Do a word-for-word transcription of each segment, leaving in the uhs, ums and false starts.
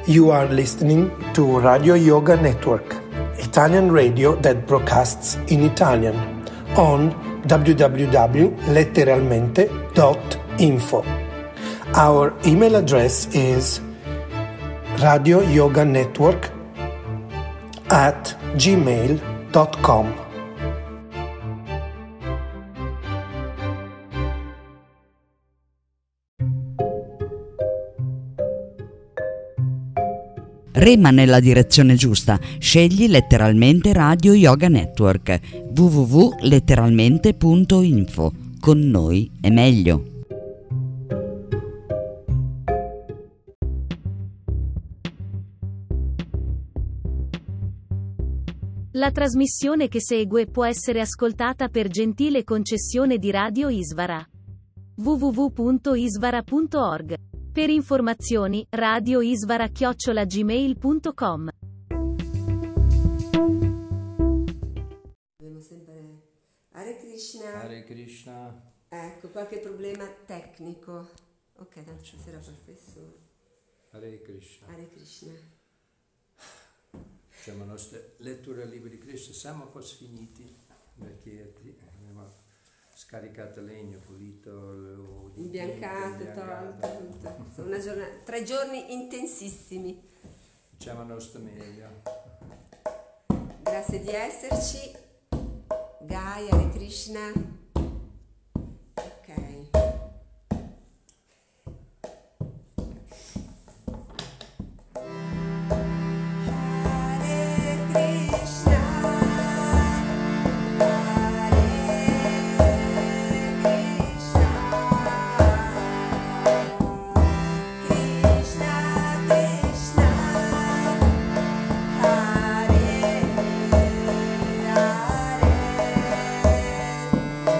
You are listening to Radio Yoga Network, Italian radio that broadcasts in Italian on w w w dot letteralmente dot info. Our email address is radioyoganetwork at gmail dot com. Rema nella direzione giusta, scegli letteralmente Radio Yoga Network, w w w punto letteralmente punto info. Con noi è meglio. La trasmissione che segue può essere ascoltata per gentile concessione di Radio Isvara. w w w punto isvara punto org. Per informazioni, radioisvara chiocciola gmail punto com. Abbiamo sempre Hare Krishna. Hare Krishna. Ecco, qualche problema tecnico. Ok, da stasera professore. Hare Krishna. Hare Krishna. Diciamo, la nostra lettura del libro di Krishna siamo quasi finiti, perché abbiamo scaricato legno, pulito, imbiancato, tolto, tutto. Sono una giornata, tre giorni intensissimi. Facciamo il nostro meglio. Grazie di esserci. Gai, Hare Krishna. Ok. Hare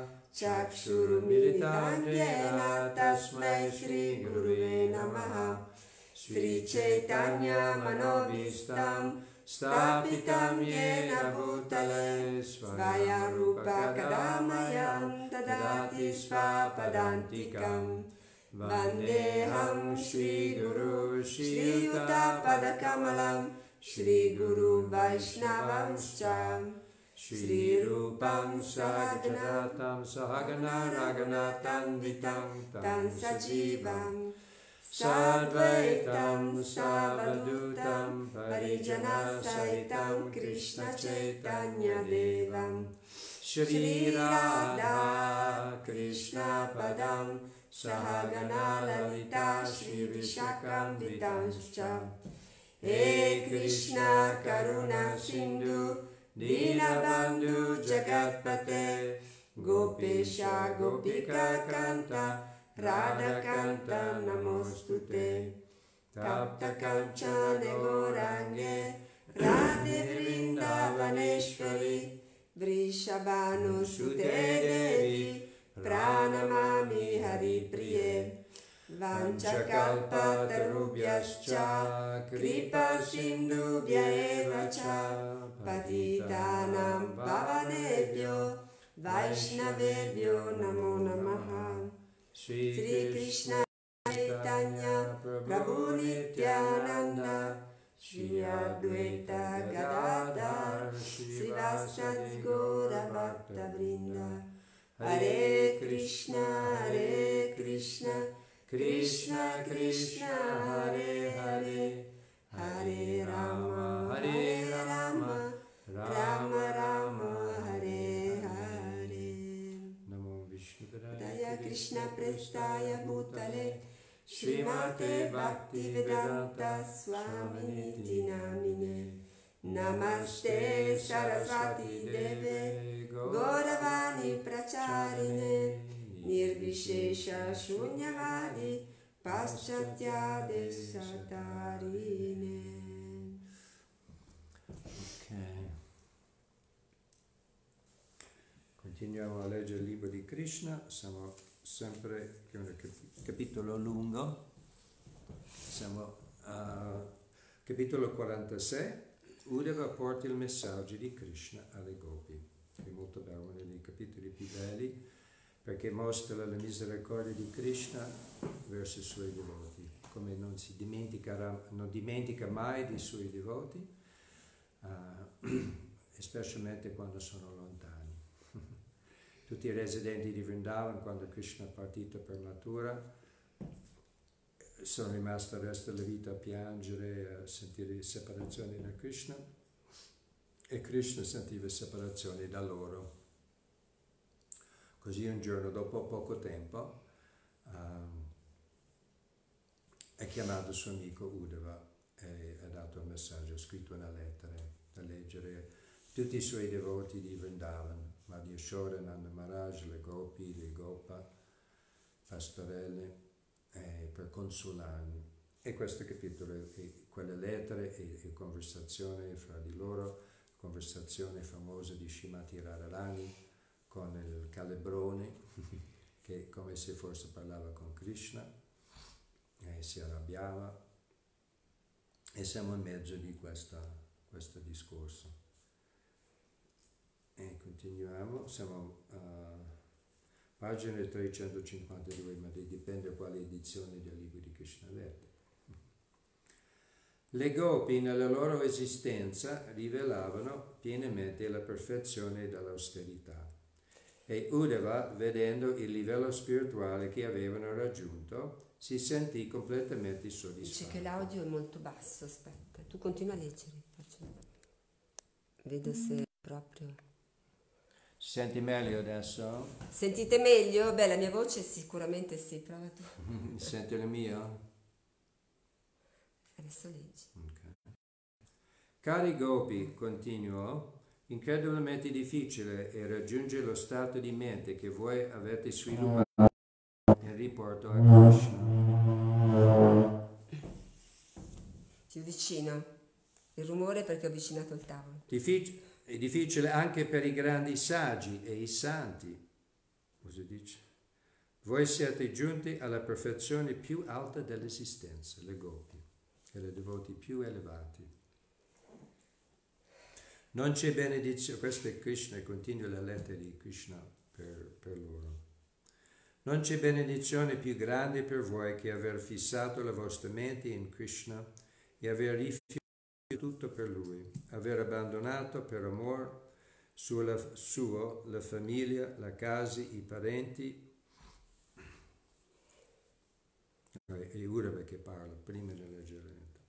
Chakshurumilitam Yena Tasmai Shri Guruve Namaha. Sri Chaitanya Manobhistam Stapitam Yena Bhutale Svayam Rupa Kadamayam Dadati Svapadantikam. Vandeham Shri Guru Shri Yuta Padakamalam Shri Guru Vaishnavamscha. Shri Rupam Sahaganatam Sahagana Raganatam Vitam Tam Sajivam Sadvaitam Savadutam Parijana Saitam Krishna Chaitanya Devam Shri Radha Krishna Padam Sahagana Lalita Shri Vishakam Vitamscha. He Krishna Karuna Sindhu Dinabandhu Jagatpate Gopesha Gopika Kanta Radha Kanta Namostute. Tapta Kanchane Gorange Radhe Vrindavaneshwari Vrishabhanu Sute Devi Pranamami Hari Priye. Vanchakalpa tarubhyascha kripa sindhubhya eva cha patitanam pavanebhyo vaishnavebhyo namo namaha. Sri Krishna Chaitanya Prabhu Nityananda Shri Advaita Gadadhar Srivasadi Gaura Bhakta Vrinda. Hare Krishna Hare Krishna Krishna Krishna Hare Hare Hare Rama Hare Rama Rama Rama Hare Hare. Namo Vishnudaya Krishna Prestaya Bhutale Srimate Bhakti Vedanta Swaminiti Namine. Namaste Saraswati Deve Gauravani Pracharine Nirvishesha Shunyavadi Paschatya Desatarine. Ok. Continuiamo a leggere il libro di Krishna, siamo sempre, che è un capitolo lungo, siamo a capitolo quarantasei, Uddhava porta il messaggio di Krishna alle gopi. È molto bello, uno dei capitoli più belli, perché mostra la misericordia di Krishna verso i suoi devoti, come non si dimenticherà, non dimentica mai dei suoi devoti, uh, specialmente quando sono lontani. Tutti i residenti di Vrindavan, quando Krishna è partito per natura, sono rimasti il resto della vita a piangere, a sentire separazione da Krishna, e Krishna sentiva separazione da loro. Così un giorno, dopo poco tempo, um, ha chiamato il suo amico Uddhava e ha dato un messaggio, ha scritto una lettera da leggere tutti i suoi devoti di Vrindavan, Madhya Yashoda, Nanda Maharaj, le gopi, le gopa, pastorelle, eh, per consolarli. E questo capitolo è quelle lettere e, e conversazione fra di loro, conversazione famosa di Srimati Radharani con il calebrone, che come se forse parlava con Krishna, e si arrabbiava, e siamo in mezzo di questa, questo discorso. E continuiamo, siamo a pagina trecentocinquantadue, ma dipende da quale edizione del libro di Krishna letto. Le gopi nella loro esistenza rivelavano pienamente la perfezione dell'austerità. E Uddhava, vedendo il livello spirituale che avevano raggiunto, si sentì completamente soddisfatto. Dice che l'audio è molto basso, aspetta, tu continua a leggere, faccio... vedo se proprio... Si senti meglio adesso? Sentite meglio? Beh, la mia voce sicuramente sì, prova tu. Senti la mia? Adesso leggi. Okay. Cari gopi, continuò, incredibilmente difficile è raggiungere lo stato di mente che voi avete sviluppato in riporto a Krishna. Più vicino. Il rumore perché ho avvicinato il tavolo. Diffic- è difficile anche per i grandi saggi e i santi. cosa dice? Voi siete giunti alla perfezione più alta dell'esistenza, le gopi, e le devoti più elevati. Non c'è benedizione, questo è Krishna, continua la lettera di Krishna per, per loro. Non c'è benedizione più grande per voi che aver fissato la vostra mente in Krishna e aver rifiutato tutto per Lui, aver abbandonato per amor suo, suo la famiglia, la casa, i parenti, è Uddhava che parla prima di leggere.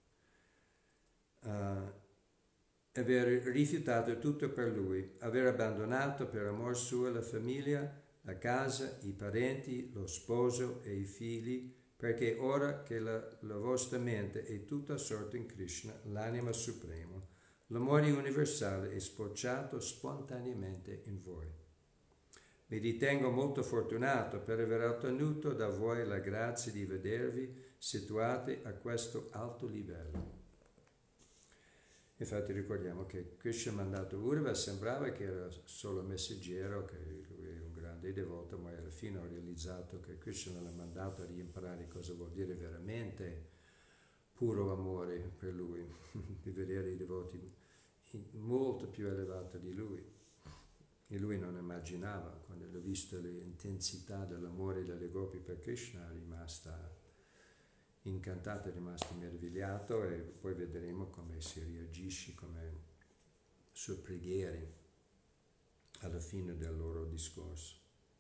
Uh, aver rifiutato tutto per Lui, aver abbandonato per amor suo la famiglia, la casa, i parenti, lo sposo e i figli, perché ora che la, la vostra mente è tutta assorta in Krishna, l'anima suprema, l'amore universale è sbocciato spontaneamente in voi. Mi ritengo molto fortunato per aver ottenuto da voi la grazia di vedervi situati a questo alto livello. Infatti ricordiamo che Krishna ha mandato Uddhava, sembrava che era solo messaggero, che lui è un grande devoto, ma alla fine ho realizzato che Krishna l'ha mandato a imparare cosa vuol dire veramente puro amore per lui, di vedere i devoti molto più elevati di lui. E lui non immaginava, quando ha visto l'intensità dell'amore delle gopi per Krishna, è rimasta incantato, è rimasto meravigliato, e poi vedremo come si reagisce, come sue preghiere alla fine del loro discorso.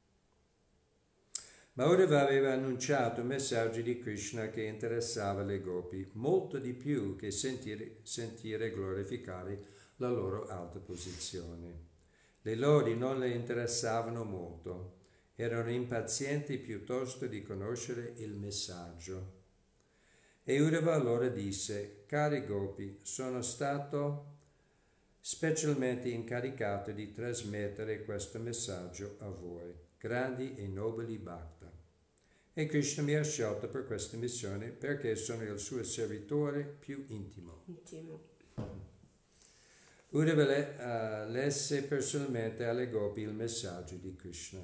Ma Uddhava aveva annunciato un messaggio di Krishna che interessava le gopi molto di più che sentire, sentire glorificare la loro alta posizione. Le lodi non le interessavano molto, erano impazienti piuttosto di conoscere il messaggio. E Uddhava allora disse: cari gopi, sono stato specialmente incaricato di trasmettere questo messaggio a voi, grandi e nobili bhakta. E Krishna mi ha scelto per questa missione perché sono il suo servitore più intimo. Intimo. Uddhava le, uh, lesse personalmente alle gopi il messaggio di Krishna.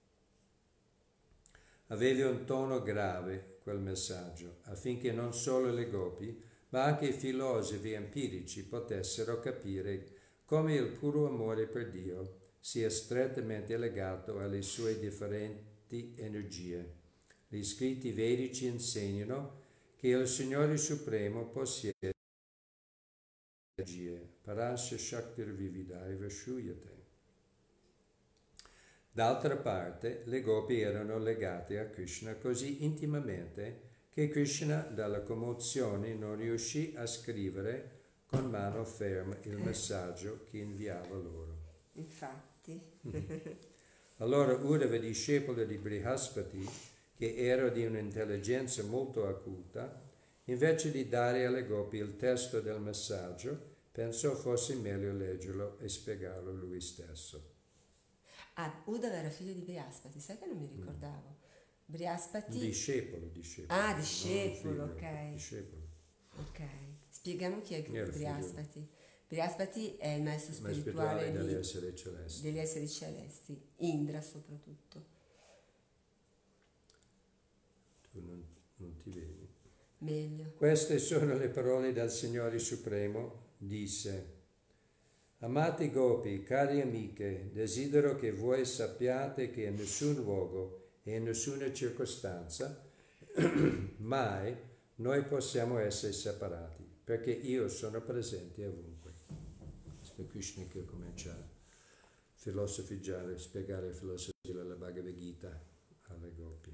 Aveva un tono grave quel messaggio, affinché non solo le gopi, ma anche i filosofi empirici potessero capire come il puro amore per Dio sia strettamente legato alle sue differenti energie. Gli scritti vedici insegnano che il Signore Supremo possiede energie, parasya shaktir vividaiva shuyate. D'altra parte, le gopi erano legate a Krishna così intimamente che Krishna, dalla commozione, non riuscì a scrivere con mano ferma il messaggio che inviava loro. Infatti. Allora Uddhava, discepolo di Brihaspati, che era di un'intelligenza molto acuta, invece di dare alle gopi il testo del messaggio, pensò fosse meglio leggerlo e spiegarlo lui stesso. Ah, Uddhava era figlio di Brihaspati, sai che non mi ricordavo. Brihaspati... Discepolo, discepolo. Ah, discepolo, no, figlio, ok. Discepolo. Ok. Spieghiamo chi è Era Brihaspati. Brihaspati è il maestro spirituale, spirituale degli di, esseri celesti. degli esseri celesti, Indra soprattutto. Tu non, non ti vedi. Meglio. Queste sono le parole del Signore Supremo, disse: amati gopi, cari amiche, desidero che voi sappiate che in nessun luogo e in nessuna circostanza mai noi possiamo essere separati, perché io sono presente ovunque. Questo è Krishna che comincia a filosofeggiare, a spiegare la filosofia della Bhagavad Gita alle gopi.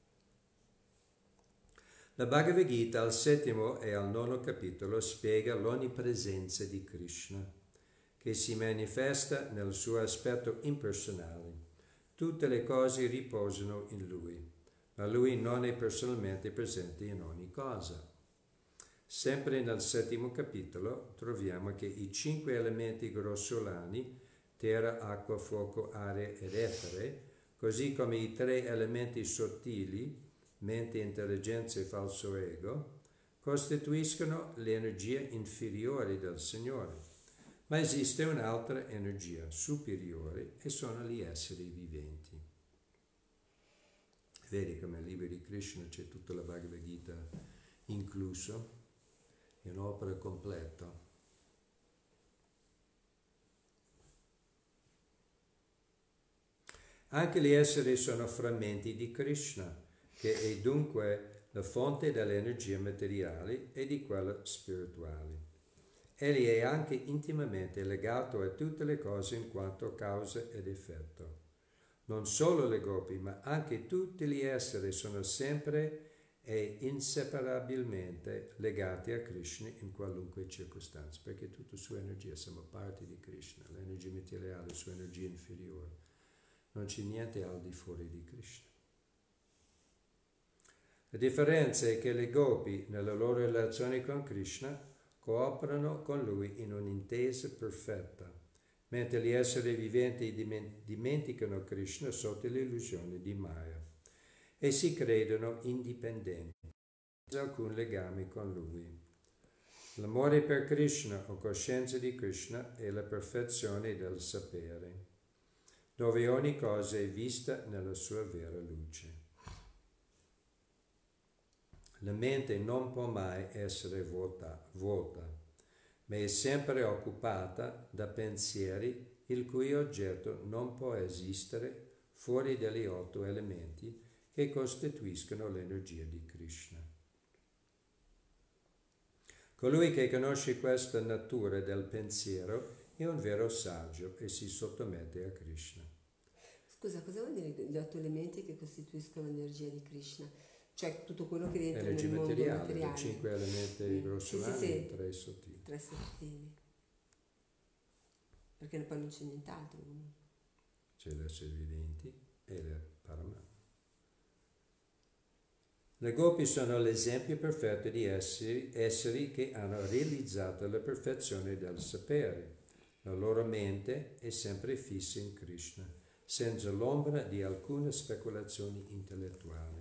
La Bhagavad Gita al settimo e al nono capitolo spiega l'onnipresenza di Krishna, che si manifesta nel suo aspetto impersonale. Tutte le cose riposano in lui, ma lui non è personalmente presente in ogni cosa. Sempre nel settimo capitolo troviamo che i cinque elementi grossolani, terra, acqua, fuoco, aria ed etere, così come i tre elementi sottili, mente, intelligenza e falso ego, costituiscono l'energia inferiore del Signore. Ma esiste un'altra energia superiore e sono gli esseri viventi. Vedi come nel libro di Krishna c'è tutta la Bhagavad Gita incluso, è un'opera completa. Anche gli esseri sono frammenti di Krishna, che è dunque la fonte delle energie materiali e di quelle spirituali. Egli è anche intimamente legato a tutte le cose in quanto causa ed effetto. Non solo le gopi, ma anche tutti gli esseri sono sempre e inseparabilmente legati a Krishna in qualunque circostanza, perché tutta sua energia, siamo parte di Krishna, l'energia materiale, sua energia inferiore. Non c'è niente al di fuori di Krishna. La differenza è che le gopi, nella loro relazione con Krishna, cooperano con lui in un'intesa perfetta, mentre gli esseri viventi dimenticano Krishna sotto l'illusione di Maya e si credono indipendenti, senza alcun legame con lui. L'amore per Krishna o coscienza di Krishna è la perfezione del sapere, dove ogni cosa è vista nella sua vera luce. La mente non può mai essere vuota, vuota, ma è sempre occupata da pensieri il cui oggetto non può esistere fuori dagli otto elementi che costituiscono l'energia di Krishna. Colui che conosce questa natura del pensiero è un vero saggio e si sottomette a Krishna. Scusa, cosa vuol dire gli otto elementi che costituiscono l'energia di Krishna? Cioè tutto quello che rientra Energia nel mondo materiale, materiale. i cinque elementi Mm. grossolani Sì, sì, sì. e tre sottili. Tre sottili. Perché poi non c'è nient'altro. C'è l'essere viventi e il Paramatma. Le gopi sono l'esempio perfetto di esseri, esseri che hanno realizzato la perfezione del sapere. La loro mente è sempre fissa in Krishna, senza l'ombra di alcune speculazioni intellettuali.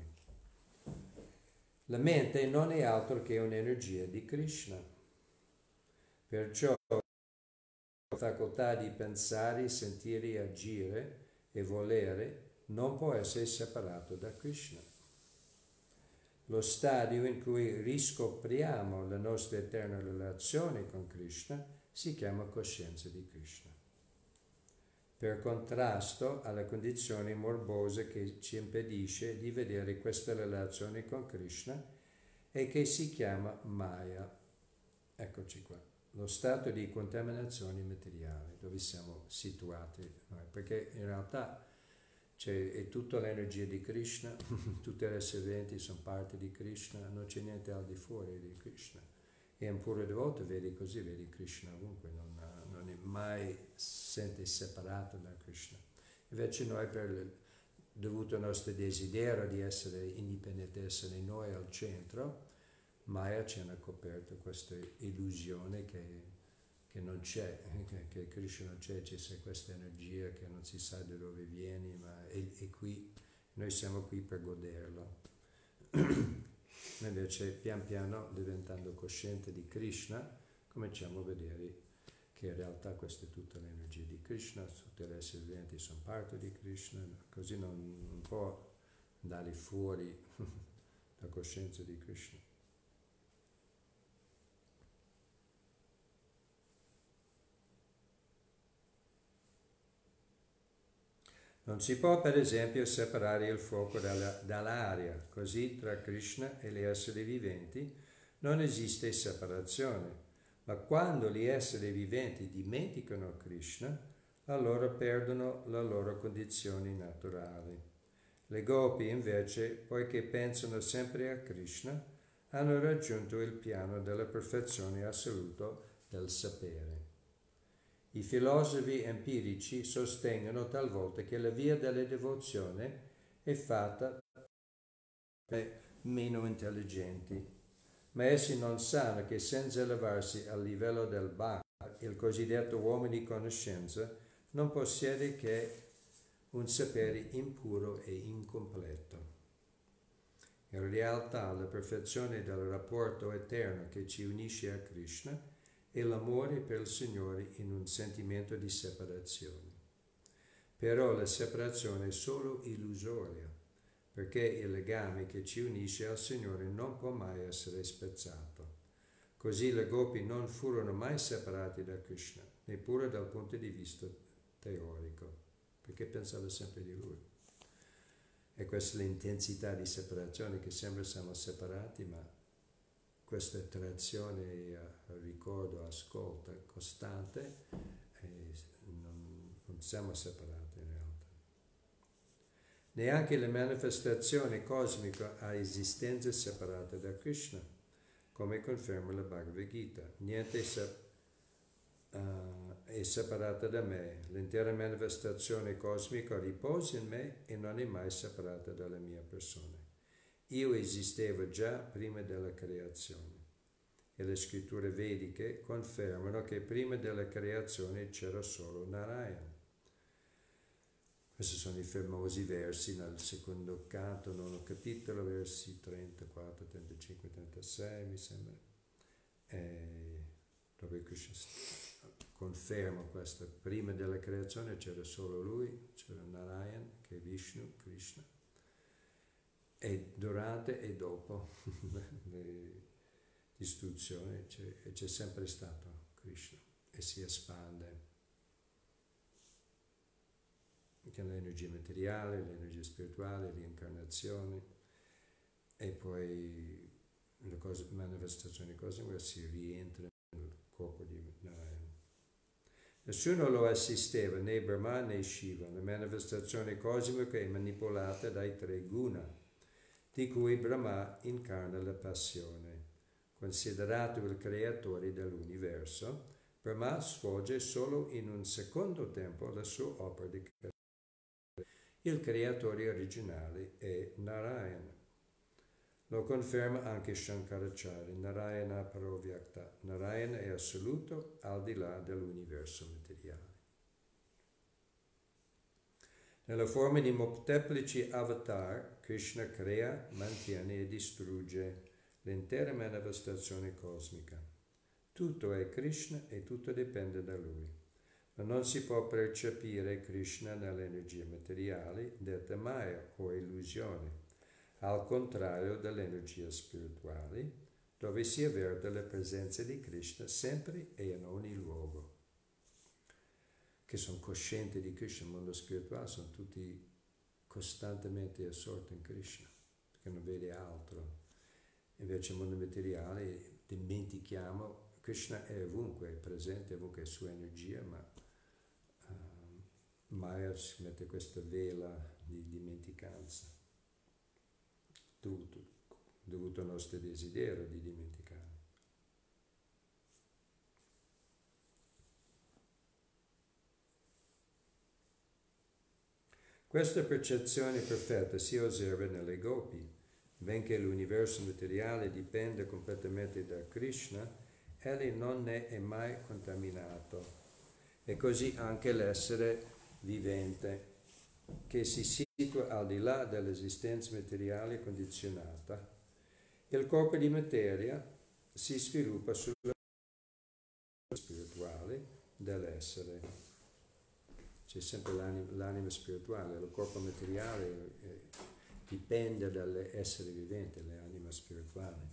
La mente non è altro che un'energia di Krishna. Perciò la facoltà di pensare, sentire, agire e volere non può essere separato da Krishna. Lo stadio in cui riscopriamo la nostra eterna relazione con Krishna si chiama coscienza di Krishna. Per contrasto alla condizione morbosa che ci impedisce di vedere questa relazione con Krishna e che si chiama Maya. Eccoci qua, lo stato di contaminazione materiale dove siamo situati noi, perché in realtà c'è, è tutta l'energia di Krishna, tutti gli esseri viventi sono parte di Krishna, non c'è niente al di fuori di Krishna. E un puro devoto vedi così, vedi Krishna ovunque, non, non è mai sente separato da Krishna. Invece noi, per, dovuto al nostro desiderio di essere indipendenti, essere noi al centro, Maya ci ha coperto questa illusione che, che non c'è, che, che Krishna non c'è, c'è questa energia che non si sa da dove viene, ma è, è qui, noi siamo qui per goderlo. Invece pian piano, diventando cosciente di Krishna, cominciamo a vedere che in realtà questa è tutta l'energia di Krishna, tutti gli esseri viventi sono parte di Krishna, così non, non può andare fuori la coscienza di Krishna. Non si può per esempio separare il fuoco dalla, dall'aria, così tra Krishna e gli esseri viventi non esiste separazione, ma quando gli esseri viventi dimenticano Krishna, allora perdono le loro condizioni naturali. Le gopi invece, poiché pensano sempre a Krishna, hanno raggiunto il piano della perfezione assoluta del sapere. I filosofi empirici sostengono talvolta che la via della devozione è fatta da meno intelligenti, ma essi non sanno che senza elevarsi al livello del Bhakti, il cosiddetto uomo di conoscenza non possiede che un sapere impuro e incompleto. In realtà la perfezione del rapporto eterno che ci unisce a Krishna e l'amore per il Signore in un sentimento di separazione. Però la separazione è solo illusoria, perché il legame che ci unisce al Signore non può mai essere spezzato. Così le gopi non furono mai separati da Krishna, neppure dal punto di vista teorico, perché pensava sempre di Lui. E questa è l'intensità di separazione, che sempre siamo separati, ma questa attrazione, ricordo, ascolto costante, e non, non siamo separati in realtà. Neanche la manifestazione cosmica ha esistenza separata da Krishna, come conferma la Bhagavad Gita. Niente se, uh, è separata da me. L'intera manifestazione cosmica riposa in me e non è mai separata dalla mia persona. Io esistevo già prima della creazione. E le scritture vediche confermano che prima della creazione c'era solo Narayana. Questi sono i famosi versi nel secondo canto, nono capitolo, versi trentaquattro, trentacinque, trentasei, mi sembra, e dove Krishna conferma questo. Prima della creazione c'era solo lui, c'era Narayan, che è Vishnu, Krishna, e durante e dopo le distruzioni c'è, c'è sempre stato Krishna e si espande. Che l'energia materiale, l'energia spirituale, l'incarnazione, e poi le cose, manifestazioni cosmiche si rientra nel corpo di Narayana. Nessuno lo assisteva, né Brahma né Shiva. La manifestazione cosmica è manipolata dai tre guna, di cui Brahma incarna la passione. Considerato il creatore dell'universo, Brahma svolge solo in un secondo tempo la sua opera di creazione. Il creatore originale è Narayana. Lo conferma anche Shankaracharya, Narayana Paravyakta. Narayana è assoluto al di là dell'universo materiale. Nella forma di molteplici avatar, Krishna crea, mantiene e distrugge l'intera manifestazione cosmica. Tutto è Krishna e tutto dipende da Lui. Ma non si può percepire Krishna nell'energia materiale, detta Maya o illusione, al contrario dell'energia spirituale, dove si avverte la presenza di Krishna sempre e in ogni luogo. Che sono coscienti di Krishna, nel mondo spirituale sono tutti costantemente assorti in Krishna, perché non vede altro. Invece nel mondo materiale dimentichiamo, Krishna è ovunque, è presente ovunque, è sua energia, ma Maya si mette questa vela di dimenticanza, dovuto, dovuto al nostro desiderio di dimenticare. Questa percezione perfetta si osserva nelle gopi, benché l'universo materiale dipenda completamente da Krishna, egli non ne è mai contaminato, e così anche l'essere vivente, che si situa al di là dell'esistenza materiale condizionata. Il corpo di materia si sviluppa sulla spirituale dell'essere. C'è sempre l'anima, l'anima spirituale, il corpo materiale eh, dipende dall'essere vivente, l'anima spirituale.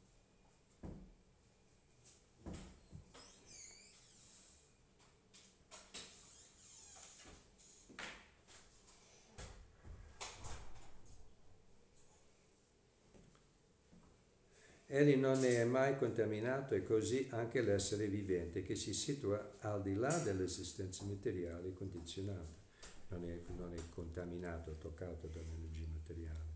Egli non ne è mai contaminato, e così anche l'essere vivente, che si situa al di là dell'esistenza materiale condizionata. Non è, non è contaminato, toccato dall'energia materiale.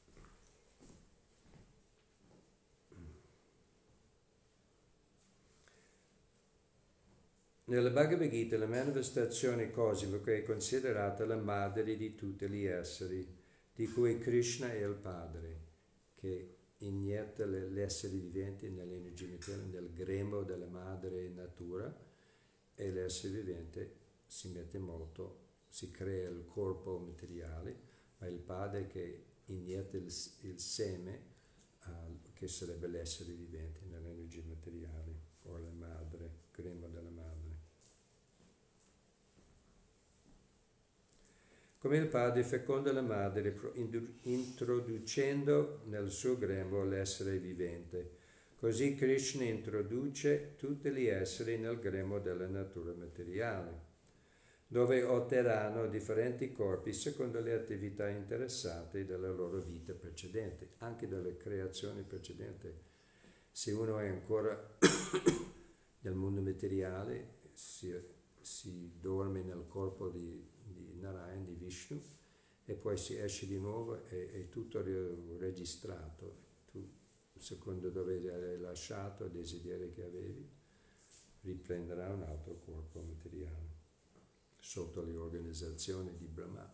Nella Bhagavad Gita la manifestazione cosmica è considerata la madre di tutti gli esseri, di cui Krishna è il padre, che inietta gli esseri viventi nell'energia materiale, nel grembo della madre natura, e l'essere vivente si mette molto, si crea il corpo materiale, ma il padre che inietta il, il seme, uh, che sarebbe l'essere vivente nell'energia materiale, o la madre, grembo della madre. Come il padre feconda la madre introducendo nel suo grembo l'essere vivente, così Krishna introduce tutti gli esseri nel grembo della natura materiale, dove otterranno differenti corpi secondo le attività interessate della loro vita precedente, anche delle creazioni precedenti. Se uno è ancora nel mondo materiale, si, si dorme nel corpo di, di Narayan, di Vishnu, e poi si esce di nuovo e è tutto registrato. Tu, secondo dove hai lasciato, il desiderio che avevi, riprenderà un altro corpo materiale sotto le organizzazioni di Brahma.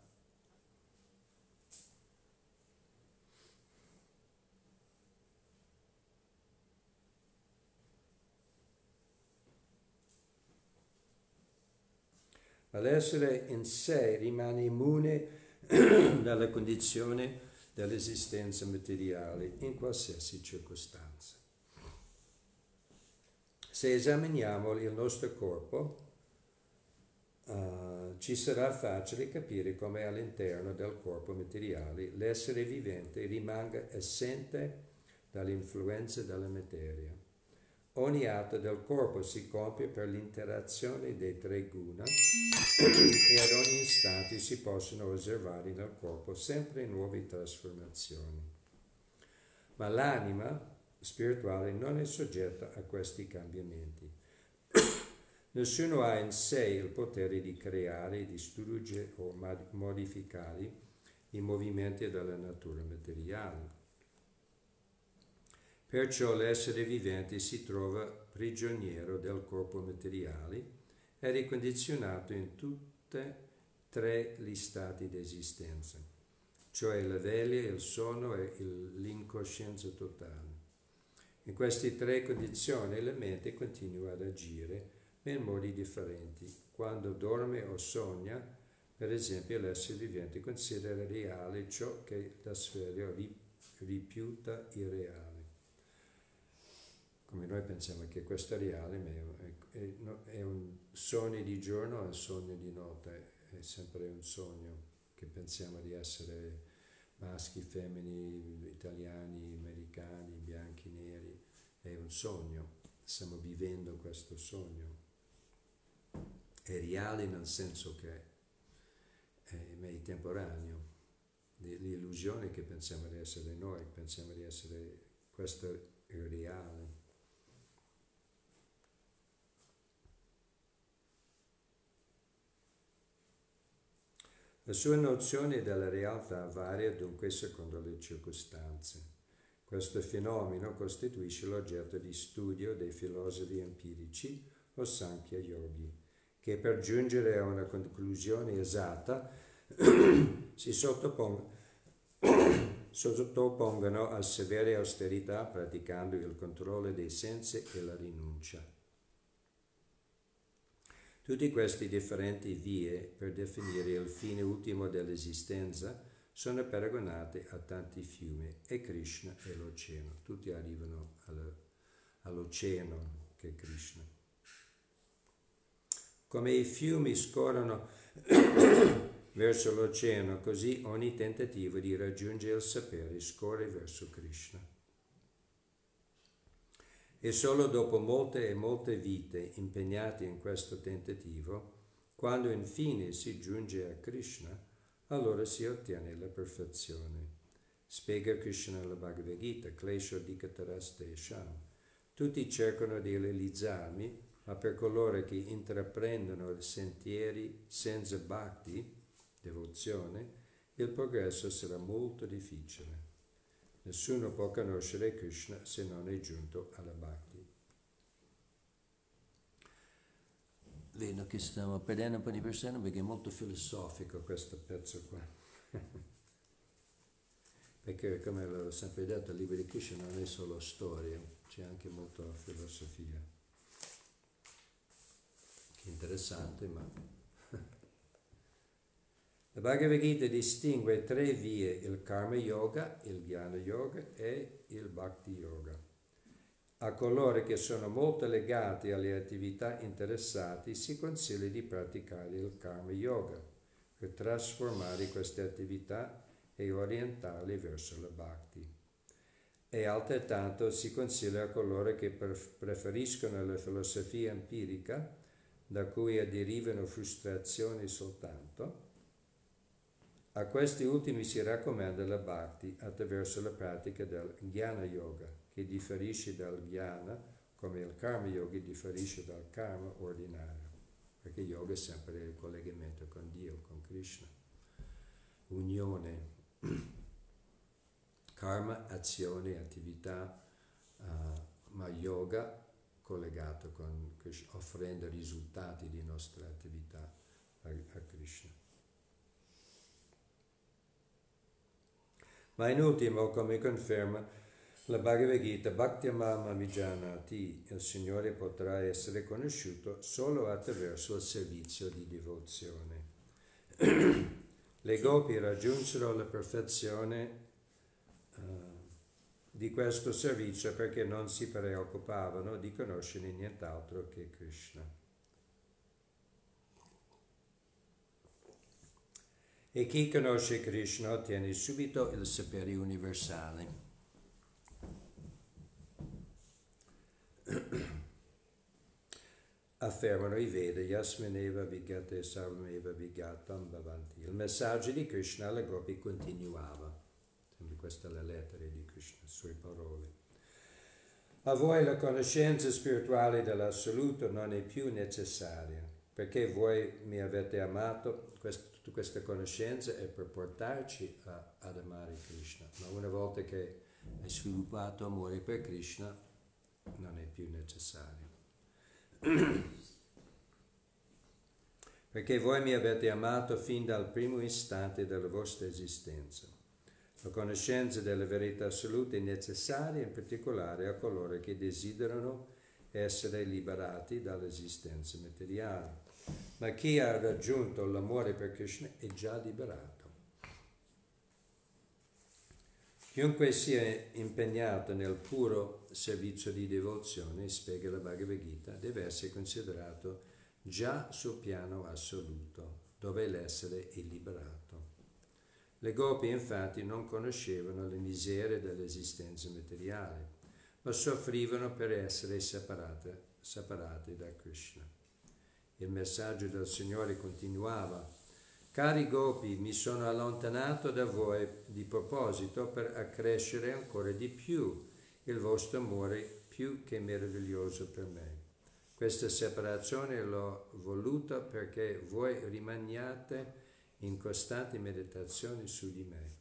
Ma l'essere in sé rimane immune dalla condizione dell'esistenza materiale in qualsiasi circostanza. Se esaminiamo il nostro corpo, Uh, ci sarà facile capire come all'interno del corpo materiale l'essere vivente rimanga assente dall'influenza della materia. Ogni atto del corpo si compie per l'interazione dei tre guna e ad ogni istante si possono osservare nel corpo sempre nuove trasformazioni. Ma l'anima spirituale non è soggetta a questi cambiamenti. Nessuno ha in sé il potere di creare, distruggere o modificare i movimenti della natura materiale. Perciò l'essere vivente si trova prigioniero del corpo materiale ed è condizionato in tutti e tre gli stati di esistenza, cioè la veglia, il sonno e l'incoscienza totale. In queste tre condizioni la mente continua ad agire in modi differenti. Quando dorme o sogna, per esempio, l'essere vivente considera reale ciò che la sfera riputa irreale. Come noi pensiamo che questo è reale, ma è, è, è un sogno di giorno o un sogno di notte, è sempre un sogno che pensiamo di essere maschi, femmini, italiani, americani, bianchi, neri, è un sogno, stiamo vivendo questo sogno. È reale nel senso che è, è temporaneo. L'illusione che pensiamo di essere noi, pensiamo di essere, questo è reale. La sua nozione della realtà varia dunque secondo le circostanze. Questo fenomeno costituisce l'oggetto di studio dei filosofi empirici o Sankhya Yogi, che per giungere a una conclusione esatta si sottopongono, sottopongono a severe austerità praticando il controllo dei sensi e la rinuncia. Tutte queste differenti vie per definire il fine ultimo dell'esistenza sono paragonate a tanti fiumi e Krishna è l'oceano. Tutti arrivano all'oceano che è Krishna. Come i fiumi scorrono verso l'oceano, così ogni tentativo di raggiungere il sapere scorre verso Krishna. E solo dopo molte e molte vite impegnate in questo tentativo, quando infine si giunge a Krishna, allora si ottiene la perfezione. Spiega Krishna nella Bhagavad Gita, Klesho Dikataraste Sham. Tutti cercano di realizzarmi, ma per coloro che intraprendono sentieri senza bhakti, devozione, il progresso sarà molto difficile. Nessuno può conoscere Krishna se non è giunto alla bhakti. Vedo che stiamo perdendo un po' di persone perché è molto filosofico questo pezzo qua. Perché, come l'ho sempre detto, il libro di Krishna non è solo storia, c'è anche molta filosofia. Che interessante, ma... La Bhagavad Gita distingue tre vie, il Karma Yoga, il Jnana Yoga e il Bhakti Yoga. A coloro che sono molto legati alle attività interessate si consiglia di praticare il Karma Yoga, per trasformare queste attività e orientarle verso la bhakti. E altrettanto si consiglia a coloro che preferiscono la filosofia empirica, da cui derivano frustrazioni soltanto. A questi ultimi si raccomanda la bhakti attraverso la pratica del jnana yoga, che differisce dal jnana come il karma yoga differisce dal karma ordinario, perché yoga è sempre il collegamento con Dio, con Krishna, unione, karma, azione, attività, uh, ma yoga collegato con Krishna, offrendo risultati di nostra attività a, a Krishna. Ma in ultimo, come conferma la Bhagavad Gita, Bhaktyamam Vijanati, il Signore potrà essere conosciuto solo attraverso il servizio di devozione. Le gopi raggiunsero la perfezione uh, di questo servizio perché non si preoccupavano di conoscere nient'altro che Krishna. E chi conosce Krishna ottiene subito il sapere universale. Affermano i Veda, Yasmineva Vigate Sarvameva Vigatam Bhavanti. Il messaggio di Krishna alla Gopi continuava. Sempre questa è la lettera di Krishna, le sue parole. A voi la conoscenza spirituale dell'assoluto non è più necessaria, perché voi mi avete amato. Questa, tutta questa conoscenza è per portarci a, ad amare Krishna. Ma una volta che hai sviluppato amore per Krishna, non è più necessario. Perché voi mi avete amato fin dal primo istante della vostra esistenza. La conoscenza della verità assoluta è necessaria in particolare a coloro che desiderano essere liberati dall'esistenza materiale. Ma chi ha raggiunto l'amore per Krishna è già liberato. Chiunque sia impegnato nel puro servizio di devozione, spiega la Bhagavad Gita, deve essere considerato già sul piano assoluto, dove l'essere è liberato. Le gopi infatti non conoscevano le miserie dell'esistenza materiale, ma soffrivano per essere separate, separate da Krishna. Il messaggio del Signore continuava: cari gopi, mi sono allontanato da voi di proposito per accrescere ancora di più il vostro amore più che meraviglioso per me. Questa separazione l'ho voluta perché voi rimaniate in costante meditazione su di me.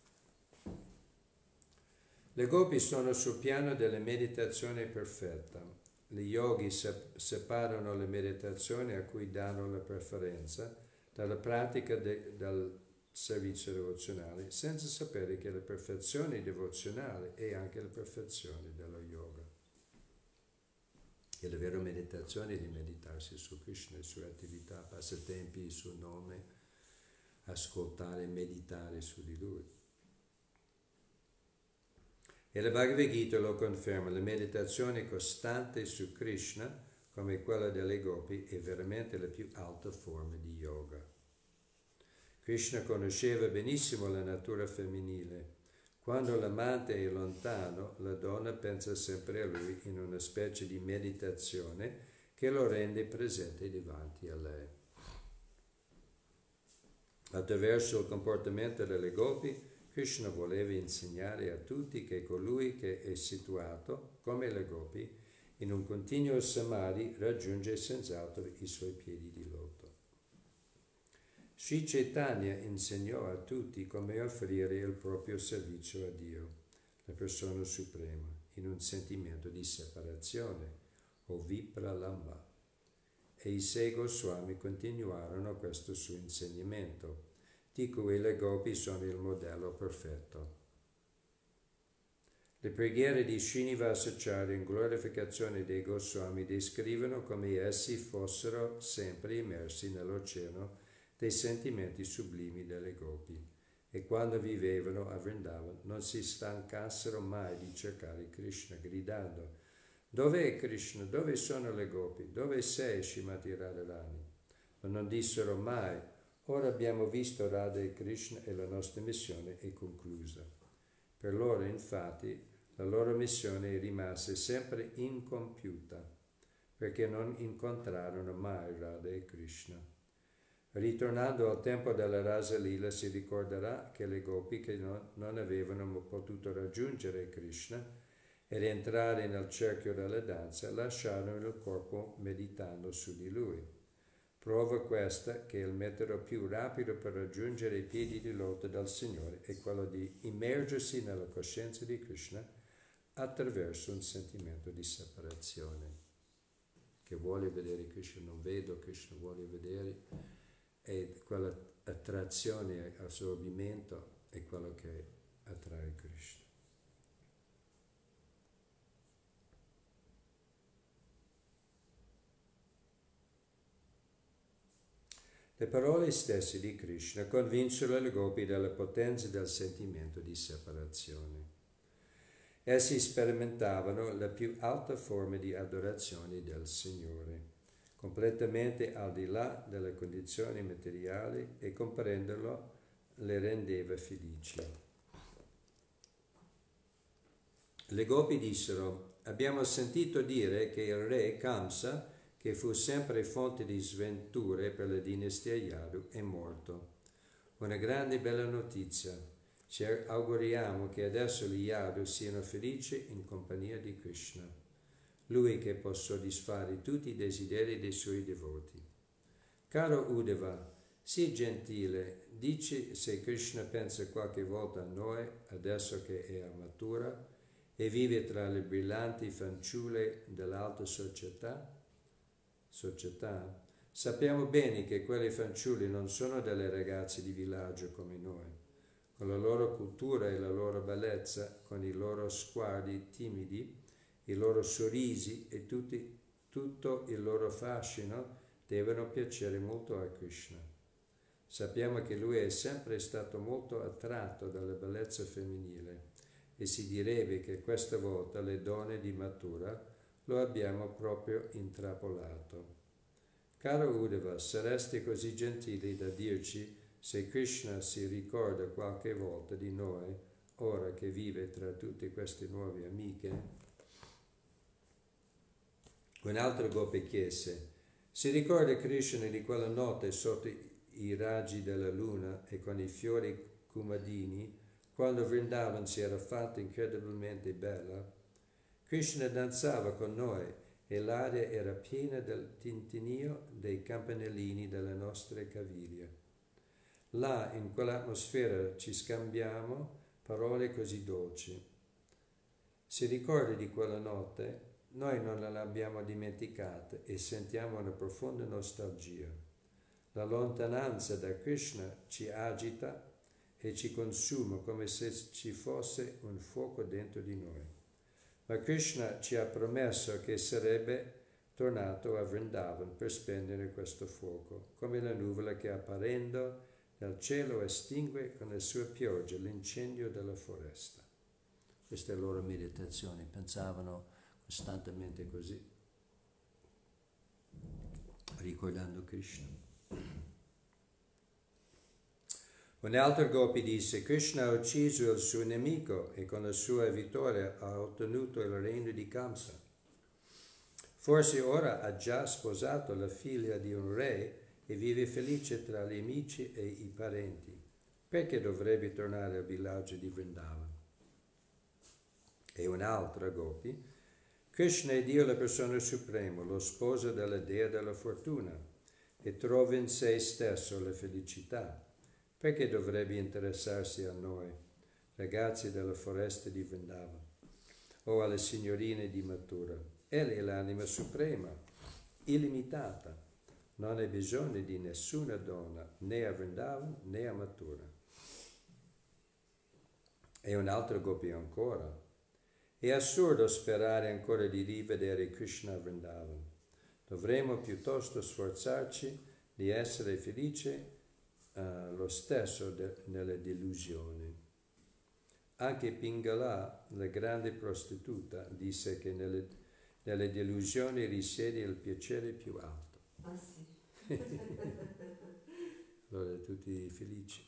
Le gopi sono sul piano della meditazione perfetta. Gli yogi separano la meditazione a cui danno la preferenza dalla pratica de, del servizio devozionale, senza sapere che la perfezione devozionale è anche la perfezione dello yoga. E la vera meditazione è di meditarsi su Krishna, le sue attività, passatempi, il suo nome, ascoltare e meditare su di Lui. E la Bhagavad Gita lo conferma, la meditazione costante su Krishna, come quella delle gopi, è veramente la più alta forma di yoga. Krishna conosceva benissimo la natura femminile. Quando l'amante è lontano, la donna pensa sempre a lui in una specie di meditazione che lo rende presente davanti a lei. Attraverso il comportamento delle gopi, Krishna voleva insegnare a tutti che colui che è situato, come le gopi, in un continuo samadhi raggiunge senz'altro i suoi piedi di loto. Sri Chaitanya insegnò a tutti come offrire il proprio servizio a Dio, la persona suprema, in un sentimento di separazione, o vipralamba, e i sei Goswami continuarono questo suo insegnamento, di cui le gopi sono il modello perfetto. Le preghiere di Srinivasacharya in glorificazione dei Goswami descrivono come essi fossero sempre immersi nell'oceano dei sentimenti sublimi delle gopi e quando vivevano a Vrindavan non si stancassero mai di cercare Krishna, gridando: dove è Krishna? Dove sono le gopi? Dove sei, Srimati Radharani? Ma non dissero mai: Ora abbiamo visto Radha e Krishna e la nostra missione è conclusa. Per loro, infatti, la loro missione rimase sempre incompiuta, perché non incontrarono mai Radha e Krishna. Ritornando al tempo della Rasa Lila, si ricorderà che le gopi che non, non avevano potuto raggiungere Krishna ed entrare nel cerchio della danza lasciarono il corpo meditando su di lui. Prova questa che il metodo più rapido per raggiungere i piedi di loto del Signore è quello di immergersi nella coscienza di Krishna attraverso un sentimento di separazione. Che voglio vedere Krishna, non vedo Krishna, voglio vedere. E quella attrazione, assorbimento è quello che attrae Krishna. Le parole stesse di Krishna convinsero le gopi della potenza del sentimento di separazione. Essi sperimentavano la più alta forma di adorazione del Signore, completamente al di là delle condizioni materiali, e comprenderlo le rendeva felici. Le gopi dissero: abbiamo sentito dire che il re Kamsa, che fu sempre fonte di sventure per la dinastia Yadu, è morto. Una grande bella notizia. Ci auguriamo che adesso gli Yadu siano felici in compagnia di Krishna, lui che può soddisfare tutti i desideri dei suoi devoti. Caro Uddhava, sii gentile, dici se Krishna pensa qualche volta a noi, adesso che è matura e vive tra le brillanti fanciulle dell'alta società. società. Sappiamo bene che quelle fanciulle non sono delle ragazze di villaggio come noi. Con la loro cultura e la loro bellezza, con i loro sguardi timidi, i loro sorrisi e tutti, tutto il loro fascino devono piacere molto a Krishna. Sappiamo che lui è sempre stato molto attratto dalla bellezza femminile e si direbbe che questa volta le donne di matura lo abbiamo proprio intrappolato. Caro Uddhava, saresti così gentili da dirci se Krishna si ricorda qualche volta di noi, ora che vive tra tutte queste nuove amiche? Un altro gopi chiese: si ricorda Krishna di quella notte sotto i raggi della luna e con i fiori kumadini, quando Vrindavan si era fatta incredibilmente bella? Krishna danzava con noi e l'aria era piena del tintinnio dei campanellini delle nostre caviglie. Là, in quell'atmosfera, ci scambiamo parole così dolci. Si ricorda di quella notte? Noi non l'abbiamo dimenticata e sentiamo una profonda nostalgia. La lontananza da Krishna ci agita e ci consuma come se ci fosse un fuoco dentro di noi. Ma Krishna ci ha promesso che sarebbe tornato a Vrindavan per spegnere questo fuoco, come la nuvola che apparendo nel cielo estingue con la sua pioggia l'incendio della foresta. Questa è la loro meditazione, pensavano costantemente così, ricordando Krishna. Un altro gopi disse: Krishna ha ucciso il suo nemico e con la sua vittoria ha ottenuto il regno di Kamsa. Forse ora ha già sposato la figlia di un re e vive felice tra gli amici e i parenti. Perché dovrebbe tornare al villaggio di Vrindavan? E un altro gopi: Krishna è Dio, la persona suprema, lo sposo della dea della fortuna, e trova in sé stesso la felicità. Perché dovrebbe interessarsi a noi, ragazzi della foresta di Vrindavan, o alle signorine di Mathura? Egli è l'anima suprema, illimitata. Non ha bisogno di nessuna donna, né a Vrindavan né a Mathura. E un altro gopi ancora: è assurdo sperare ancora di rivedere Krishna a Vrindavan. Dovremmo piuttosto sforzarci di essere felici uh, lo stesso de- nelle delusioni. Anche Pingala, la grande prostituta, disse che nelle, nelle delusioni risiede il piacere più alto. Ah sì. allora tutti felici.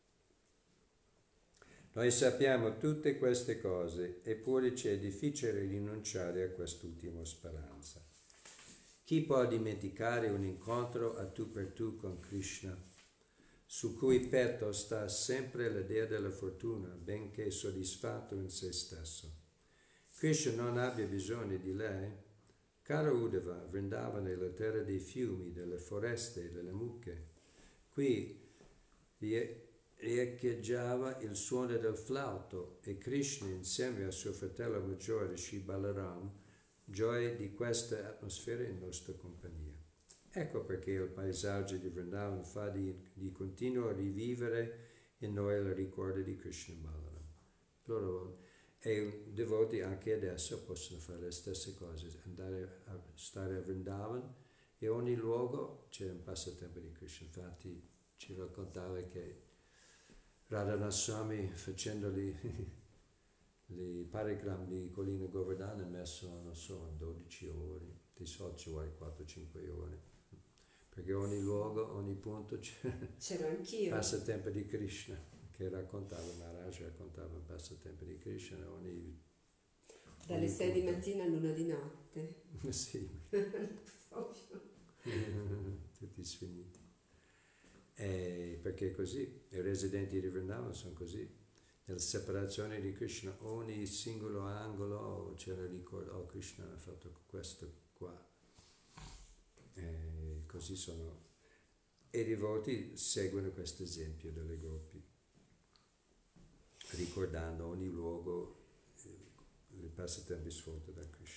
Noi sappiamo tutte queste cose, eppure ci è difficile rinunciare a quest'ultima speranza. Chi può dimenticare un incontro a tu per tu con Krishna, su cui petto sta sempre l'idea della fortuna, benché soddisfatto in se stesso? Krishna non abbia bisogno di lei? Caro Uddhava, Vrindavana è la terra dei fiumi, delle foreste e delle mucche. Qui riecheggiava il suono del flauto e Krishna, insieme a suo fratello maggiore Shri Balaram, gioia di questa atmosfera in nostra compagnia. Ecco perché il paesaggio di Vrindavan fa di, di continuo rivivere in noi il ricordo di Krishna Balaram. Loro e devoti anche adesso possono fare le stesse cose, andare a stare a Vrindavan e ogni luogo c'è un passatempo di Krishna. Infatti ci raccontava che Radhanath Swami, facendoli i parigram di Collina Govardhana, ha messo, non so, dodici ore, di solito ci vuole quattro cinque ore, perché ogni luogo, ogni punto c'è c'ero anch'io. passatempo di Krishna, che raccontava, Maharaj raccontava un passatempo di Krishna ogni... Dalle sei di mattina all'una di notte. Sì. Tutti sfiniti. E perché così, i residenti di Vrindavan sono così, nella separazione di Krishna, ogni singolo angolo c'era il ricordo, oh Krishna ha fatto questo qua, e così sono, e i devoti seguono questo esempio delle gopi, ricordando ogni luogo il passatempo svolto da Krishna.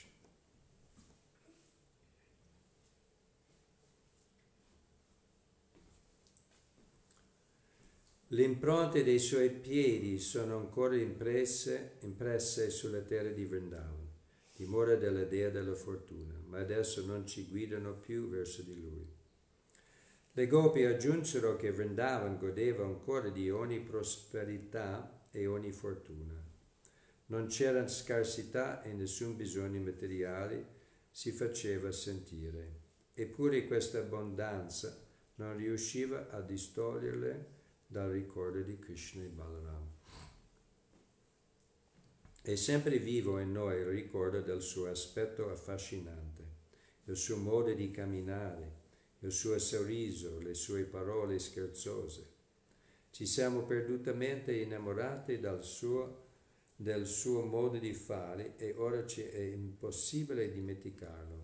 Le impronte dei suoi piedi sono ancora impresse, impresse sulla terra di Vrindavan, dimora della dea della fortuna, ma adesso non ci guidano più verso di lui. Le gopi aggiunsero che Vrindavan godeva ancora di ogni prosperità e ogni fortuna. Non c'era scarsità e nessun bisogno materiale si faceva sentire, eppure questa abbondanza non riusciva a distoglierle dal ricordo di Krishna e Balaram. È sempre vivo in noi il ricordo del suo aspetto affascinante, il suo modo di camminare, il suo sorriso, le sue parole scherzose. Ci siamo perdutamente innamorati dal suo, del suo modo di fare e ora ci è impossibile dimenticarlo.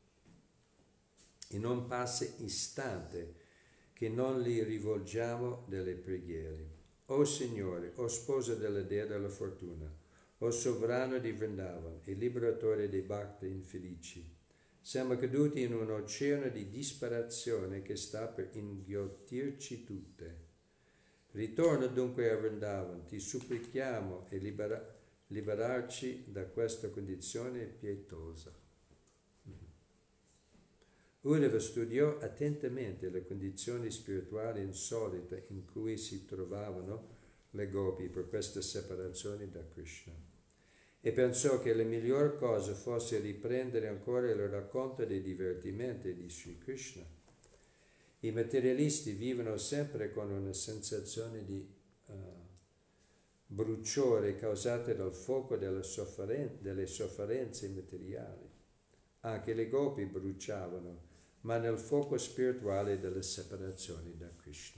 E non passa istante che non gli rivolgiamo delle preghiere. O Signore, o sposa della dea della fortuna, o sovrano di Vrindavan e liberatore dei bhakti infelici, siamo caduti in un oceano di disperazione che sta per inghiottirci tutte. Ritorna dunque a Vrindavan, ti supplichiamo e libera, liberarci da questa condizione pietosa. Uddhava studiò attentamente le condizioni spirituali insolite in cui si trovavano le gopi per questa separazione da Krishna e pensò che la miglior cosa fosse riprendere ancora il racconto dei divertimenti di Sri Krishna. I materialisti vivono sempre con una sensazione di uh, bruciore causata dal fuoco delle, sofferen- delle sofferenze materiali. Anche le gopi bruciavano, ma nel fuoco spirituale della separazione da Krishna.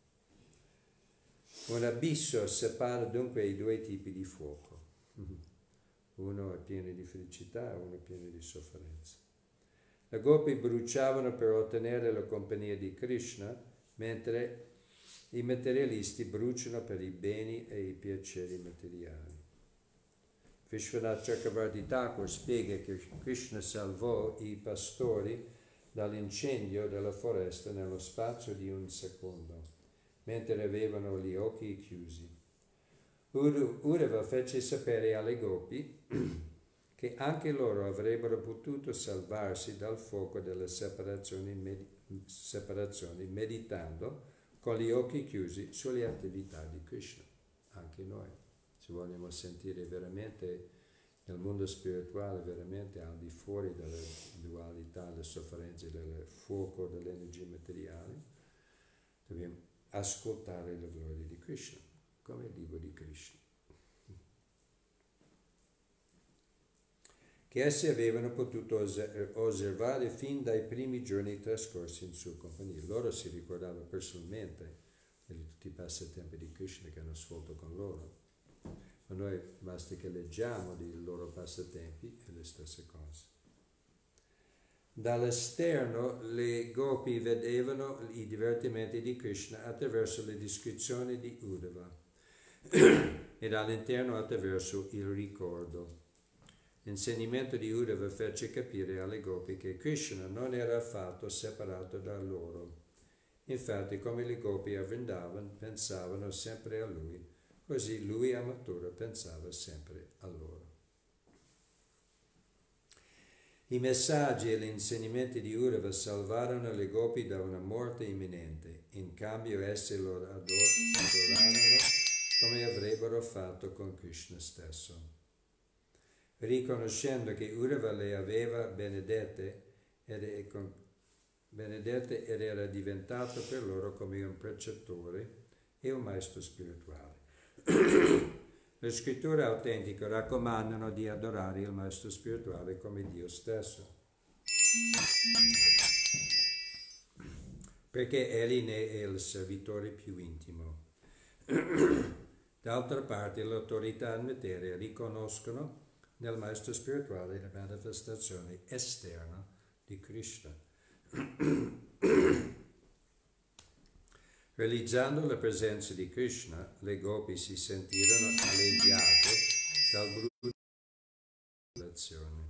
Un abisso separa dunque i due tipi di fuoco. Uno è pieno di felicità, uno è pieno di sofferenza. Le gopi bruciavano per ottenere la compagnia di Krishna, mentre i materialisti bruciano per i beni e i piaceri materiali. Vishwanath Chakravarti Thakur spiega che Krishna salvò i pastori dall'incendio della foresta nello spazio di un secondo, mentre avevano gli occhi chiusi. Uddhava fece sapere alle gopi che anche loro avrebbero potuto salvarsi dal fuoco della separazione, med- separazione meditando con gli occhi chiusi sulle attività di Krishna. Anche noi, se vogliamo sentire veramente nel mondo spirituale, veramente al di fuori delle dualità, delle sofferenze, del fuoco delle energie materiali, dobbiamo ascoltare la gloria di Krishna, come il libro di Krishna, che essi avevano potuto osservare fin dai primi giorni trascorsi in sua compagnia. Loro si ricordavano personalmente di tutti i passatempi di Krishna che hanno svolto con loro. Ma noi basta che leggiamo dei loro passatempi e le stesse cose. Dall'esterno le gopi vedevano i divertimenti di Krishna attraverso le descrizioni di Uddhava e dall'interno attraverso il ricordo. L'insegnamento di Uddhava fece capire alle gopi che Krishna non era affatto separato da loro. Infatti, come le gopi a Vrindavan pensavano sempre a lui, così lui a Mathura pensava sempre a loro. I messaggi e gli insegnamenti di Uddhava salvarono le gopi da una morte imminente. In cambio esse lo ador- adorarono come avrebbero fatto con Krishna stesso. Riconoscendo che Uddhava le aveva benedette ed, con, benedette ed era diventato per loro come un precettore e un maestro spirituale. Le scritture autentiche raccomandano di adorare il maestro spirituale come Dio stesso, perché egli ne è il servitore più intimo. D'altra parte, le autorità in materia riconoscono nel maestro spirituale la manifestazione esterna di Krishna. Realizzando la presenza di Krishna, le gopi si sentirono alleviate dal brutto della relazione.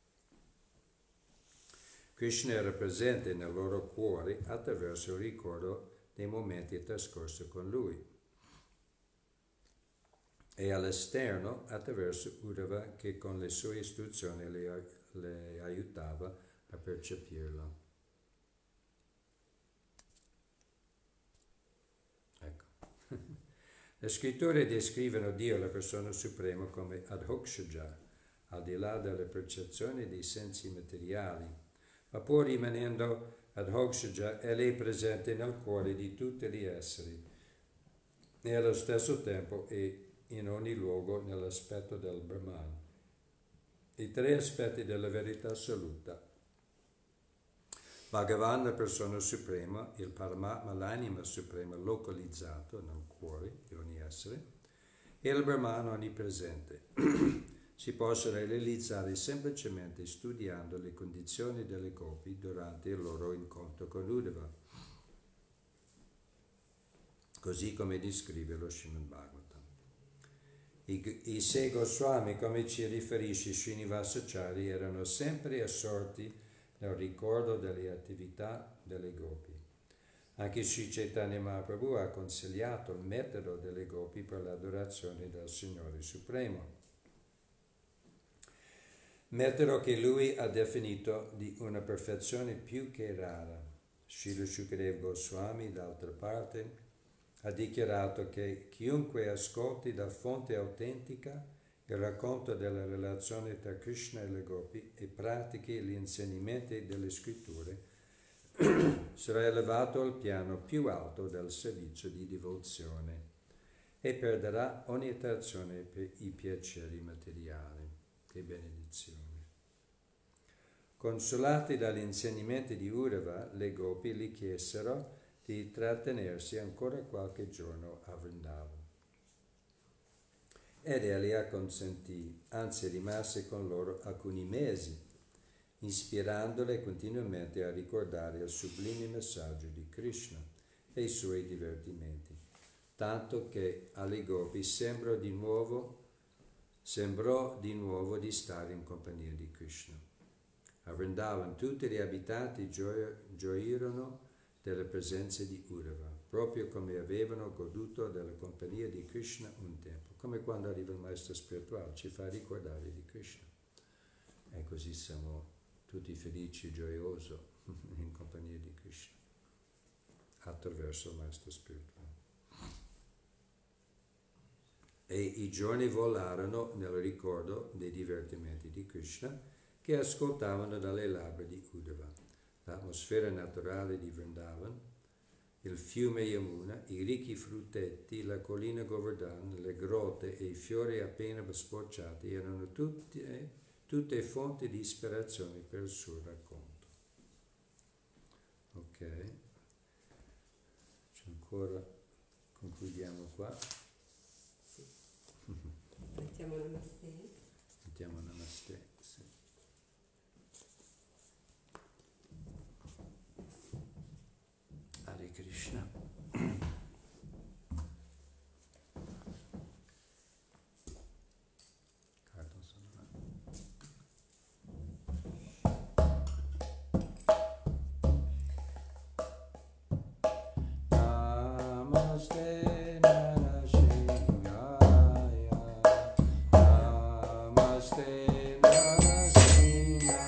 Krishna era presente nel loro cuore attraverso il ricordo dei momenti trascorsi con lui e all'esterno attraverso Uddhava che con le sue istruzioni le, le aiutava a percepirlo. Ecco. Le scritture descrivono Dio, la persona suprema, come Adhokshaja, al di là delle percezioni dei sensi materiali, ma pur rimanendo Adhokshaja, egli è presente nel cuore di tutti gli esseri e allo stesso tempo è in ogni luogo nell'aspetto del Brahman. I tre aspetti della verità assoluta. Bhagavan, la persona suprema, il Paramatma, l'anima suprema localizzato nel cuore di ogni essere, e il Brahman onnipresente. Si possono realizzare semplicemente studiando le condizioni delle gopi durante il loro incontro con Uddhava, così come descrive lo Srimad Bhagavatam. I, i sei Goswami, come ci riferisce Srinivasacharya, erano sempre assorti nel ricordo delle attività delle gopi. Anche Sri Chaitanya Mahaprabhu ha consigliato il metodo delle gopi per l'adorazione del Signore Supremo, metodo che lui ha definito di una perfezione più che rara. Srila Shukadeva Goswami, d'altra parte, ha dichiarato che chiunque ascolti da fonte autentica il racconto della relazione tra Krishna e le gopi e pratichi gli insegnamenti delle scritture sarà elevato al piano più alto del servizio di devozione e perderà ogni attrazione per i piaceri materiali. Che benedizione! Consolati dagli insegnamenti di Uddhava, le gopi gli chiesero di trattenersi ancora qualche giorno a Vrindavan. Ed egli acconsentì, anzi rimase con loro alcuni mesi, ispirandole continuamente a ricordare il sublime messaggio di Krishna e i suoi divertimenti, tanto che alle gopi sembrò di nuovo, sembrò di nuovo di stare in compagnia di Krishna. A Vrindavan tutti gli abitanti gio- gioirono della presenza di Uddhava, proprio come avevano goduto della compagnia di Krishna un tempo, come quando arriva il maestro spirituale, ci fa ricordare di Krishna. E così siamo tutti felici e gioiosi in compagnia di Krishna, attraverso il maestro spirituale. E i giorni volarono nel ricordo dei divertimenti di Krishna che ascoltavano dalle labbra di Uddhava. L'atmosfera naturale di Vrindavan il fiume Yamuna, i ricchi frutteti, la collina Govardhan, le grotte e i fiori appena sbocciati erano tutte, tutte fonti di ispirazione per il suo racconto. Ok, c'è ancora, concludiamo qua. Sì. Mettiamo Namaste. Mettiamo Namaste, sì. Hare Krishna. Cardo sono là. Namaste Narasingaya. Namaste Narasingaya.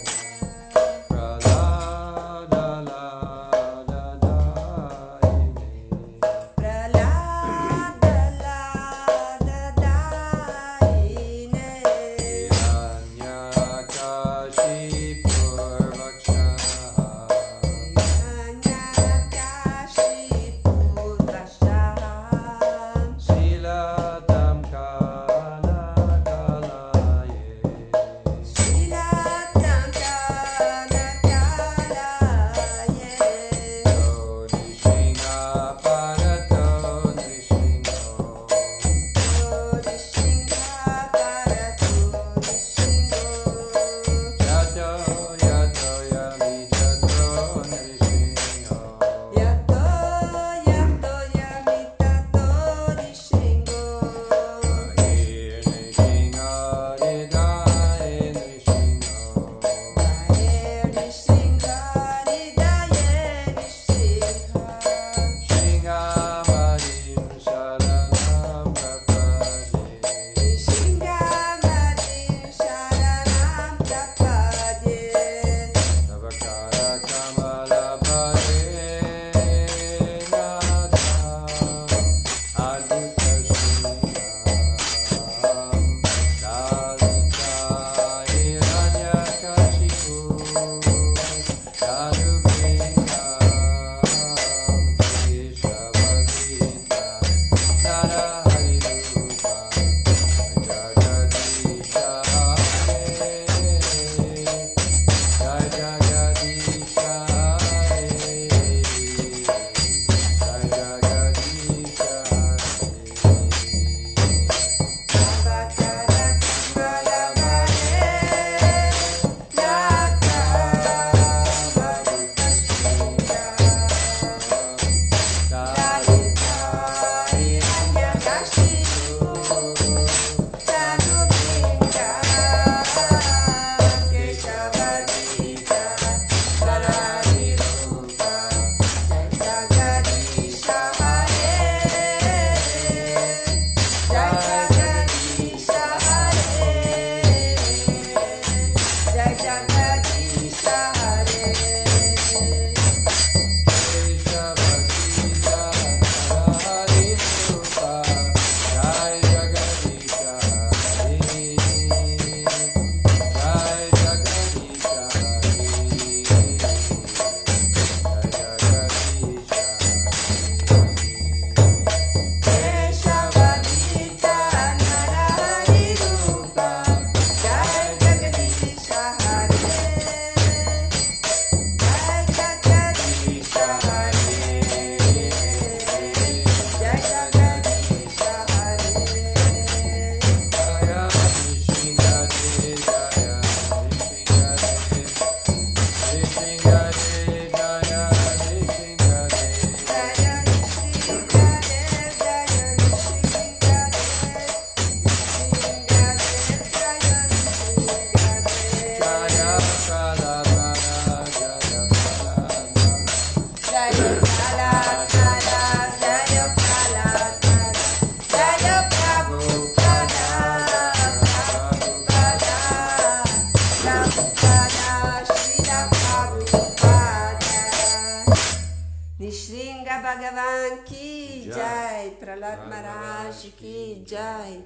Bhagavan ki jai, Prahlad Maharaj ki jai,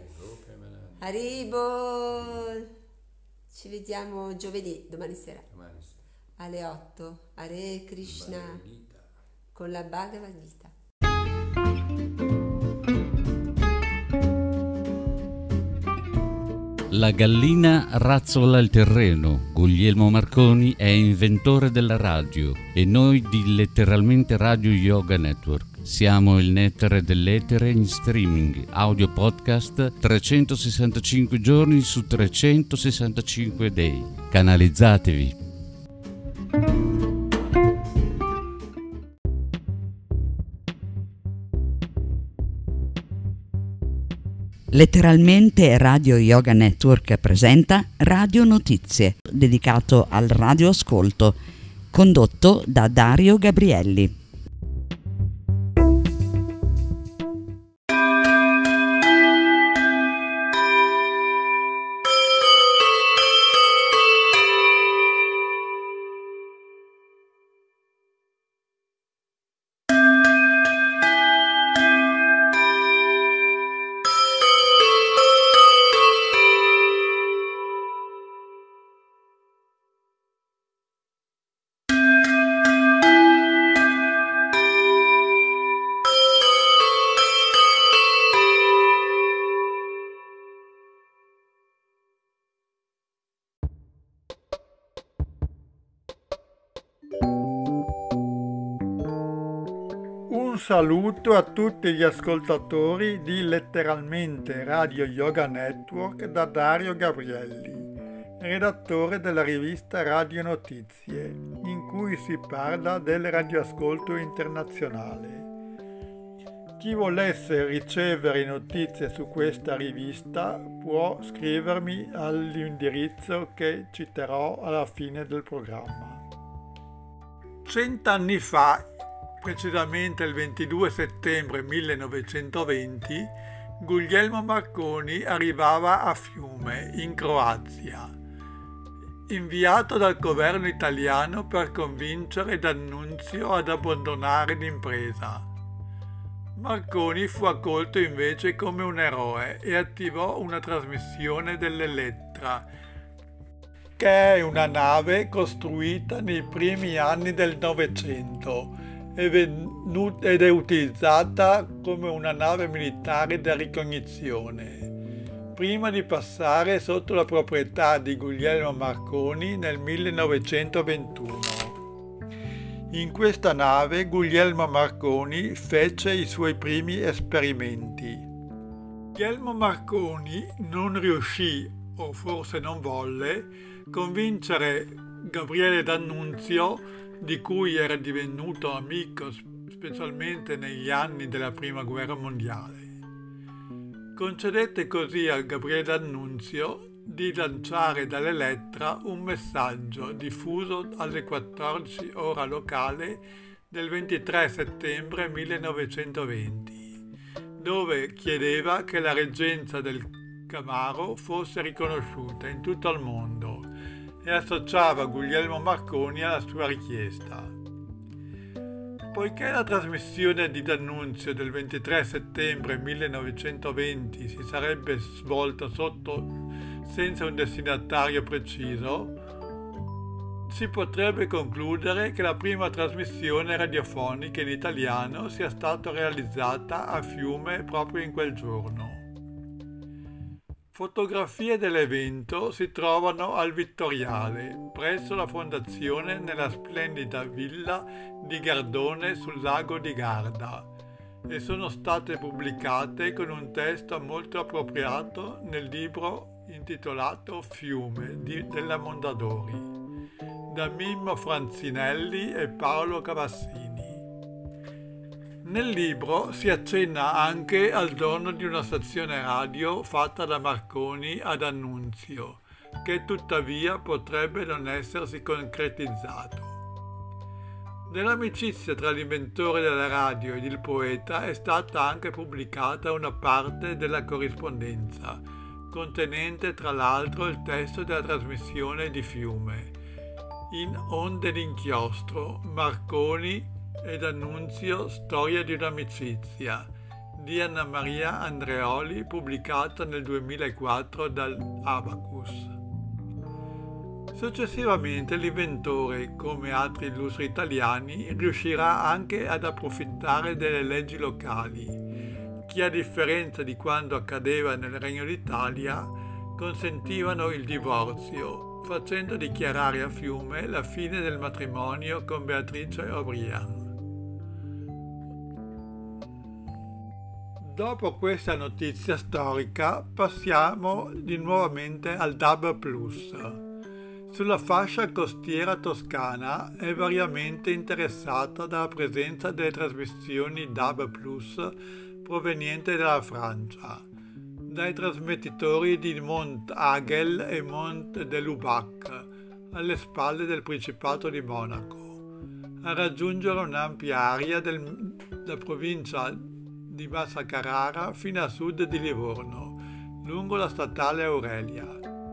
Haribol. Ci vediamo giovedì, domani sera, Domani sera. alle otto. Hare Krishna. Bhagavad Gita. con la Bhagavad Gita. La gallina razzola il terreno. Guglielmo Marconi è inventore della radio e noi di Letteralmente Radio Yoga Network. Siamo il nettare dell'etere in streaming, audio podcast trecentosessantacinque giorni su trecentosessantacinque dei. Canalizzatevi. Letteralmente Radio Yoga Network presenta Radio Notizie, dedicato al radioascolto, condotto da Dario Gabrielli. Un saluto a tutti gli ascoltatori di Letteralmente Radio Yoga Network da Dario Gabrielli, redattore della rivista Radio Notizie, in cui si parla del radioascolto internazionale. Chi volesse ricevere notizie su questa rivista può scrivermi all'indirizzo che citerò alla fine del programma. Cent'anni fa, precisamente il ventidue settembre millenovecentoventi, Guglielmo Marconi arrivava a Fiume, in Croazia, inviato dal governo italiano per convincere D'Annunzio ad abbandonare l'impresa. Marconi fu accolto invece come un eroe e attivò una trasmissione dell'Elettra, che è una nave costruita nei primi anni del Novecento ed è utilizzata come una nave militare da ricognizione, prima di passare sotto la proprietà di Guglielmo Marconi nel millenovecentoventuno. In questa nave Guglielmo Marconi fece i suoi primi esperimenti. Guglielmo Marconi non riuscì, o forse non volle, convincere Gabriele D'Annunzio, di cui era divenuto amico specialmente negli anni della Prima Guerra Mondiale. Concedette così a Gabriele D'Annunzio di lanciare dall'Elettra un messaggio diffuso alle quattordici ora locale del ventitré settembre millenovecentoventi, dove chiedeva che la reggenza del Camaro fosse riconosciuta in tutto il mondo e associava Guglielmo Marconi alla sua richiesta. Poiché la trasmissione di D'Annunzio del ventitré settembre millenovecentoventi si sarebbe svolta sotto senza un destinatario preciso, si potrebbe concludere che la prima trasmissione radiofonica in italiano sia stata realizzata a Fiume proprio in quel giorno. Fotografie dell'evento si trovano al Vittoriale, presso la fondazione nella splendida villa di Gardone sul lago di Garda, e sono state pubblicate con un testo molto appropriato nel libro intitolato Fiume di, della Mondadori, da Mimmo Franzinelli e Paolo Cavassini. Nel libro si accenna anche al dono di una stazione radio fatta da Marconi ad D'Annunzio, che tuttavia potrebbe non essersi concretizzato. Dell'amicizia tra l'inventore della radio ed il poeta è stata anche pubblicata una parte della corrispondenza, contenente tra l'altro il testo della trasmissione di Fiume, in Onde d'inchiostro, Marconi e D'Annunzio, storia di un'amicizia, di Anna Maria Andreoli, pubblicata nel duemilaquattro dall'Abacus. Successivamente l'inventore, come altri illustri italiani, riuscirà anche ad approfittare delle leggi locali, che a differenza di quanto accadeva nel Regno d'Italia, consentivano il divorzio, facendo dichiarare a Fiume la fine del matrimonio con Beatrice O'Brien. Dopo questa notizia storica passiamo di nuovamente al D A B plus. Sulla fascia costiera toscana è variamente interessata dalla presenza delle trasmissioni D A B plus provenienti dalla Francia, dai trasmettitori di Mont Agel e Mont de Lubac, alle spalle del Principato di Monaco, a raggiungere un'ampia area del, della provincia di Massa Carrara fino a sud di Livorno, lungo la statale Aurelia.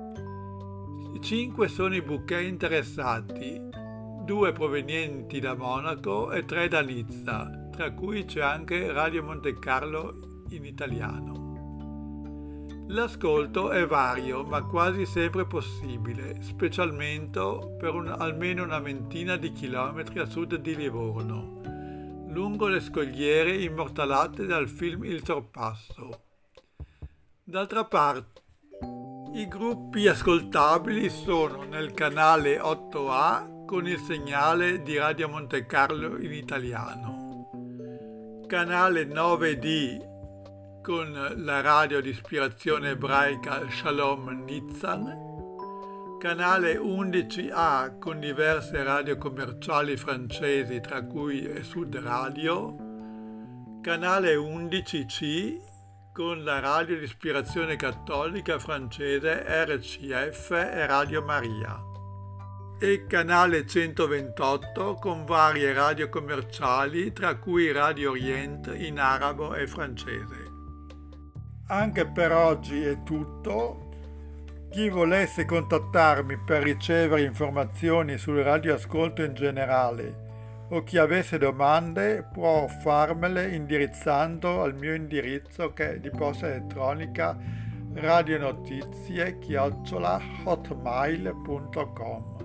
Cinque sono i bouquet interessati, due provenienti da Monaco e tre da Nizza, tra cui c'è anche Radio Monte Carlo in italiano. L'ascolto è vario, ma quasi sempre possibile, specialmente per un, almeno una ventina di chilometri a sud di Livorno, lungo le scogliere immortalate dal film Il Sorpasso. D'altra parte, i gruppi ascoltabili sono nel canale otto A con il segnale di Radio Monte Carlo in italiano, canale nove D con la radio di ispirazione ebraica Shalom Nitzan, canale undici A con diverse radio commerciali francesi tra cui Sud Radio, canale undici C con la radio di ispirazione cattolica francese R C F e Radio Maria, e canale centoventotto con varie radio commerciali tra cui Radio Orient in arabo e francese. Anche per oggi è tutto. Chi volesse contattarmi per ricevere informazioni sul radioascolto in generale o chi avesse domande può farmele indirizzando al mio indirizzo che è di posta elettronica radionotizie chiocciola hotmail punto com.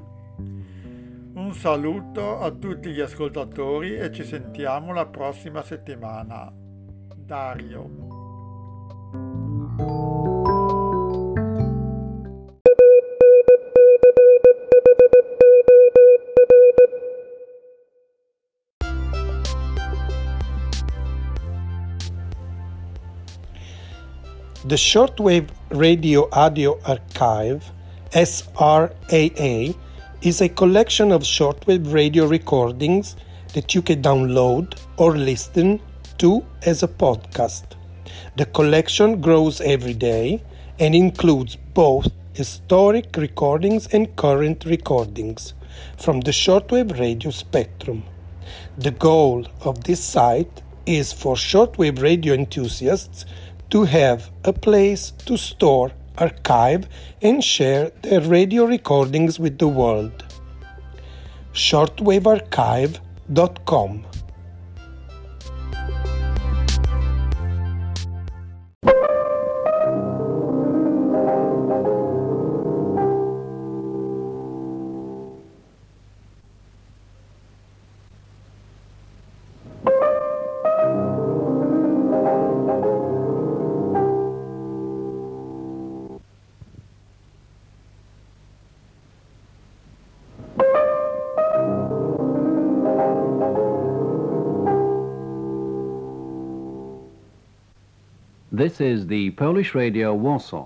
Un saluto a tutti gli ascoltatori e ci sentiamo la prossima settimana. Dario. The Shortwave Radio Audio Archive, S R A A, is a collection of shortwave radio recordings that you can download or listen to as a podcast. The collection grows every day and includes both historic recordings and current recordings from the shortwave radio spectrum. The goal of this site is for shortwave radio enthusiasts to have a place to store, archive, and share their radio recordings with the world. shortwave archive dot com. This is the Polish Radio Warsaw.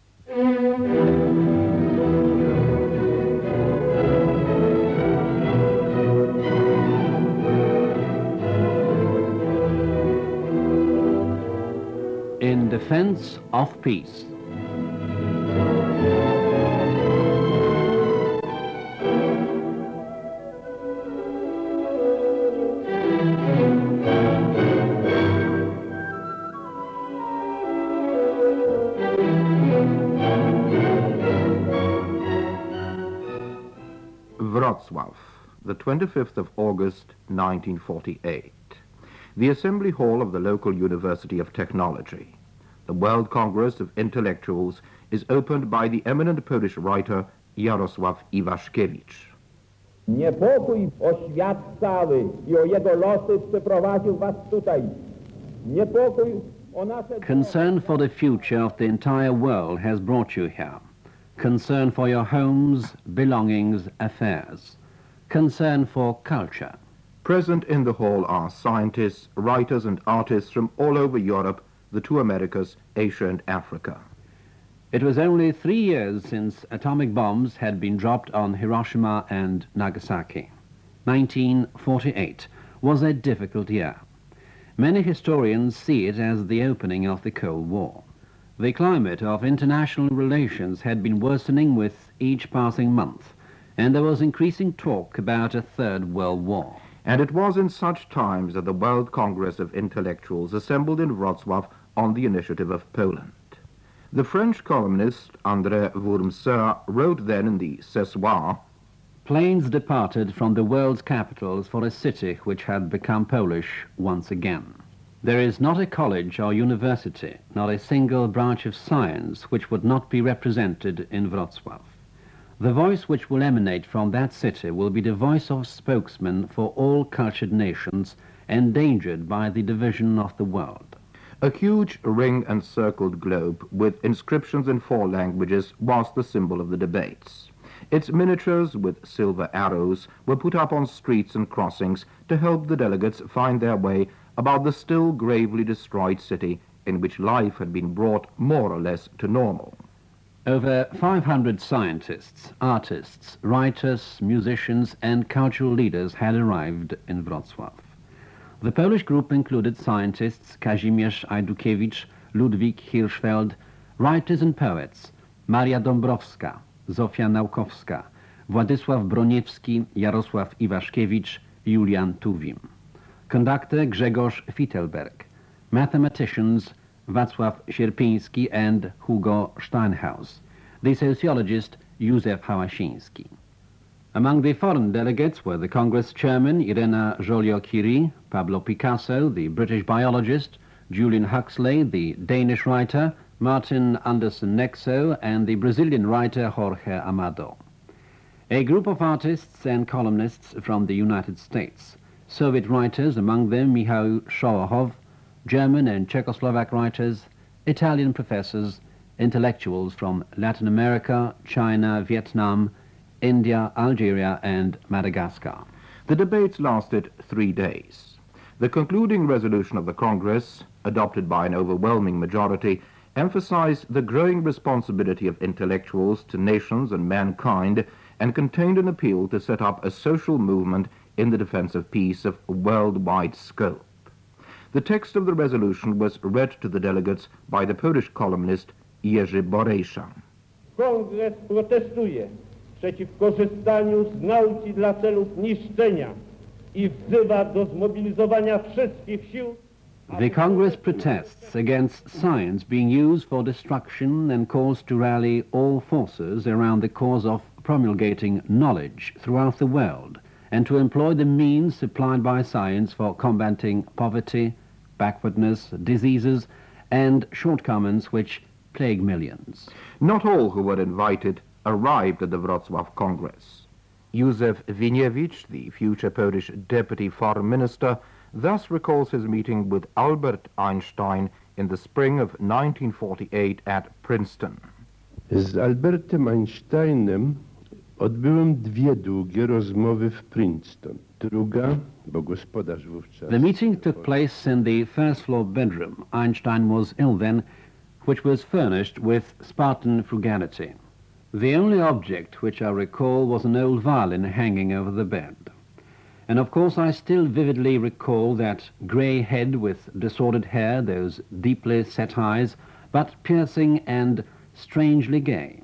In defense of peace. Wrocław, the twenty-fifth of August, nineteen forty-eight. The Assembly Hall of the local University of Technology. The World Congress of Intellectuals is opened by the eminent Polish writer Jarosław Iwaszkiewicz. Niepokój o świat cały i o jego losy przyprowadził was tutaj. Niepokój o nasze... Concern for the future of the entire world has brought you here. Concern for your homes, belongings, affairs. Concern for culture. Present in the hall are scientists, writers and artists from all over Europe, the two Americas, Asia and Africa. It was only three years since atomic bombs had been dropped on Hiroshima and Nagasaki. nineteen forty-eight was a difficult year. Many historians see it as the opening of the Cold War. The climate of international relations had been worsening with each passing month, and there was increasing talk about a Third World War. And it was in such times that the World Congress of Intellectuals assembled in Wrocław on the initiative of Poland. The French columnist André Wurmser wrote then in the Ce Soir, planes departed from the world's capitals for a city which had become Polish once again. There is not a college or university, not a single branch of science which would not be represented in Wrocław. The voice which will emanate from that city will be the voice of spokesmen for all cultured nations endangered by the division of the world. A huge ring and circled globe with inscriptions in four languages was the symbol of the debates. Its miniatures with silver arrows were put up on streets and crossings to help the delegates find their way about the still gravely destroyed city in which life had been brought more or less to normal. Over five hundred scientists, artists, writers, musicians and cultural leaders had arrived in Wrocław. The Polish group included scientists Kazimierz Ajdukiewicz, Ludwik Hirschfeld, writers and poets Maria Dąbrowska, Zofia Naukowska, Władysław Broniewski, Jarosław Iwaszkiewicz, Julian Tuwim. Conductor Grzegorz Fittelberg, mathematicians Wacław Sierpiński and Hugo Steinhaus, the sociologist Józef Hałasiński. Among the foreign delegates were the Congress chairman Irena Joliot-Curie, Pablo Picasso, the British biologist, Julian Huxley, the Danish writer, Martin Anderson Nexo, and the Brazilian writer Jorge Amado. A group of artists and columnists from the United States, Soviet writers, among them Mikhail Sholokhov, German and Czechoslovak writers, Italian professors, intellectuals from Latin America, China, Vietnam, India, Algeria and Madagascar. The debates lasted three days. The concluding resolution of the Congress, adopted by an overwhelming majority, emphasized the growing responsibility of intellectuals to nations and mankind and contained an appeal to set up a social movement in the defense of peace of worldwide scope. The text of the resolution was read to the delegates by the Polish columnist Jerzy Borejsza. Kongres protestuje przeciw korzystaniu z nauki dla celów niszczenia i wzywa do zmobilizowania wszystkich sił. The Congress protests against science being used for destruction and calls to rally all forces around the cause of promulgating knowledge throughout the world and to employ the means supplied by science for combating poverty, backwardness, diseases and shortcomings which plague millions. Not all who were invited arrived at the Wrocław Congress. Józef Winiewicz, the future Polish deputy foreign minister, thus recalls his meeting with Albert Einstein in the spring of nineteen forty-eight at Princeton. Z Albertem Einsteinem odbyłem dwie długie rozmowy w Princeton. Druga, bo gospodarz wówczas... The meeting took place in the first floor bedroom. Einstein was ill then, which was furnished with Spartan frugality. The only object which I recall was an old violin hanging over the bed. And of course I still vividly recall that grey head with disordered hair, those deeply set eyes, but piercing and strangely gay.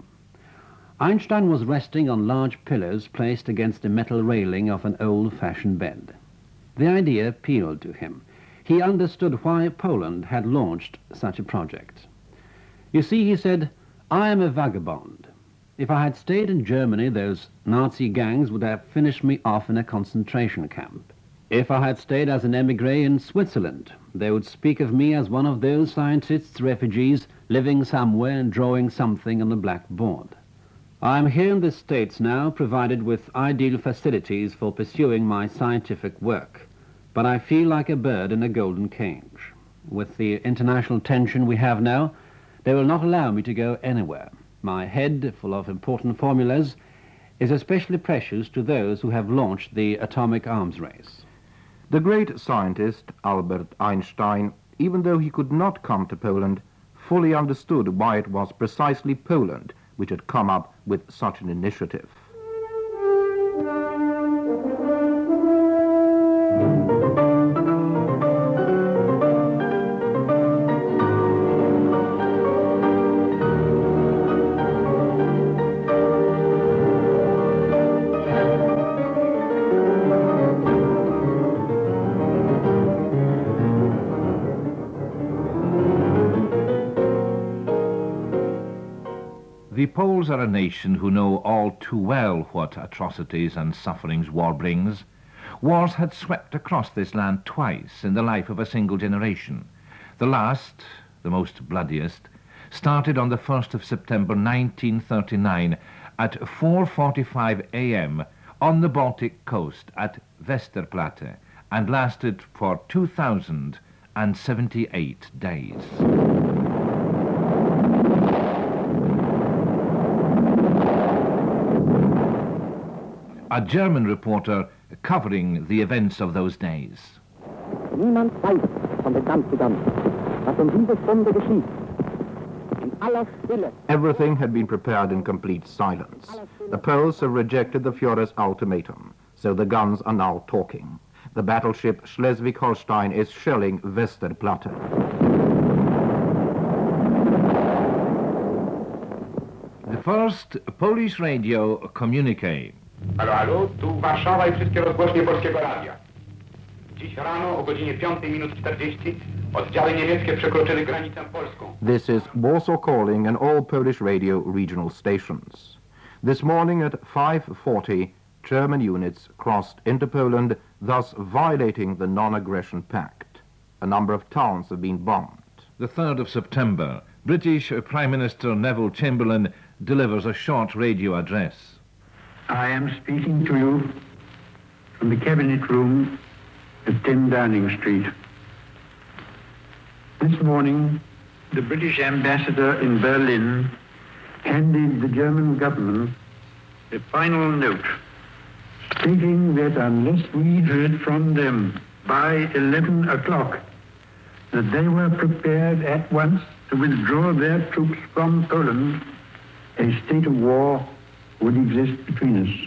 Einstein was resting on large pillows placed against the metal railing of an old-fashioned bed. The idea appealed to him. He understood why Poland had launched such a project. You see, he said, I am a vagabond. If I had stayed in Germany, those Nazi gangs would have finished me off in a concentration camp. If I had stayed as an émigré in Switzerland, they would speak of me as one of those scientists' refugees living somewhere and drawing something on a blackboard. I am here in the States now, provided with ideal facilities for pursuing my scientific work, but I feel like a bird in a golden cage. With the international tension we have now, they will not allow me to go anywhere. My head, full of important formulas, is especially precious to those who have launched the atomic arms race. The great scientist, Albert Einstein, even though he could not come to Poland, fully understood why it was precisely Poland which had come up with such an initiative. The Poles are a nation who know all too well what atrocities and sufferings war brings. Wars had swept across this land twice in the life of a single generation. The last, the most bloodiest, started on the first of September nineteen thirty-nine at four forty-five a m on the Baltic coast at Westerplatte and lasted for two thousand seventy-eight days. A German reporter covering the events of those days. Niemand weiß von den Danzigern, was um diese Stunde geschieht. In aller Stille. Everything had been prepared in complete silence. The Poles have rejected the Führer's ultimatum, so the guns are now talking. The battleship Schleswig-Holstein is shelling Westerplatte. The first Polish radio communique. Halo, halo, tu Warszawa i wszystkie rozgłośnie Polskiego Radia. Dziś rano o godzinie piątej minut czterdzieści oddziały niemieckie przekroczyły granicę polską. This is Warsaw Calling and all Polish radio regional stations. This morning at five forty, German units crossed into Poland, thus violating the non-aggression pact. A number of towns have been bombed. The third of September, British Prime Minister Neville Chamberlain delivers a short radio address. I am speaking to you from the Cabinet Room at ten Downing Street. This morning, the British ambassador in Berlin handed the German government a final note stating that unless we heard from them by eleven o'clock, that they were prepared at once to withdraw their troops from Poland, a state of war would exist between us.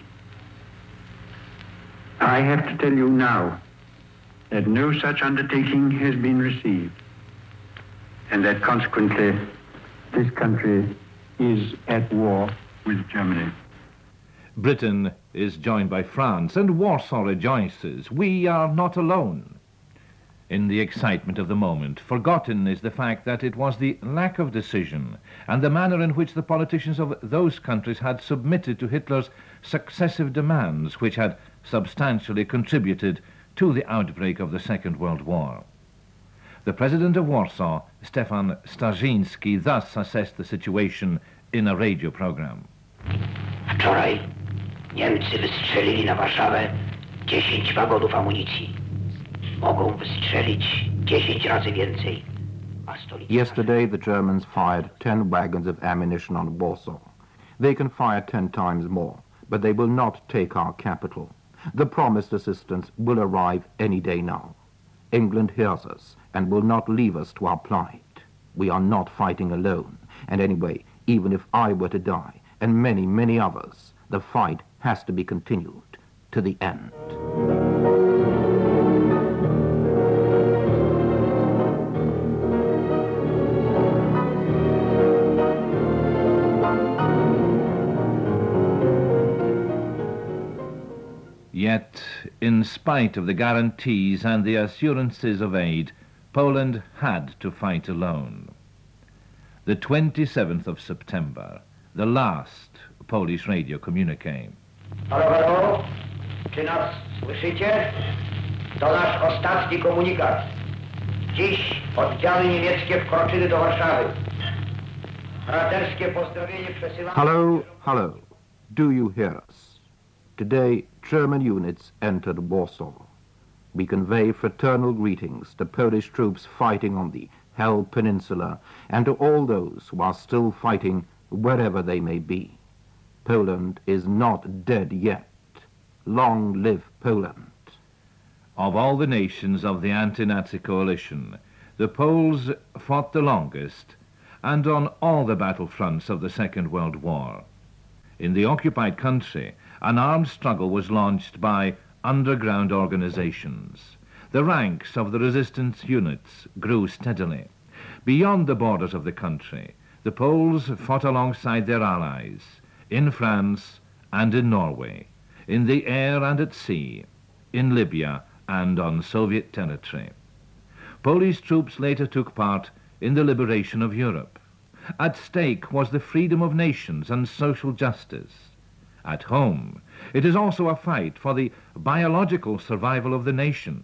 I have to tell you now that no such undertaking has been received, and that consequently this country is at war with Germany. Britain is joined by France, and Warsaw rejoices. We are not alone. In the excitement of the moment, forgotten is the fact that it was the lack of decision and the manner in which the politicians of those countries had submitted to Hitler's successive demands which had substantially contributed to the outbreak of the Second World War. The president of Warsaw, Stefan Starzyński, thus assessed the situation in a radio program. Wczoraj Niemcy wystrzelili na Warszawę dziesięć wagonów amunicji. Mogą wystrzelić dziesięć razy więcej. Yesterday the Germans fired ten wagons of ammunition on Warsaw. They can fire ten times more, but they will not take our capital. The promised assistance will arrive any day now. England hears us and will not leave us to our plight. We are not fighting alone, and anyway, even if I were to die, and many, many others, the fight has to be continued to the end. Yet, in spite of the guarantees and the assurances of aid, Poland had to fight alone. The twenty-seventh of September, the last Polish radio communique. Halo, halo, czy nas słyszycie? To nasz ostatni komunikat. Dziś oddziały niemieckie wkroczyły do Warszawy. Braterskie pozdrowienie przesyłamy. Hello, hello. Do you hear us? Today, German units entered Warsaw. We convey fraternal greetings to Polish troops fighting on the Hel Peninsula and to all those who are still fighting wherever they may be. Poland is not dead yet. Long live Poland. Of all the nations of the anti-Nazi coalition, the Poles fought the longest and on all the battlefronts of the Second World War. In the occupied country, an armed struggle was launched by underground organizations. The ranks of the resistance units grew steadily. Beyond the borders of the country, the Poles fought alongside their allies, in France and in Norway, in the air and at sea, in Libya and on Soviet territory. Polish troops later took part in the liberation of Europe. At stake was the freedom of nations and social justice. At home, it is also a fight for the biological survival of the nation.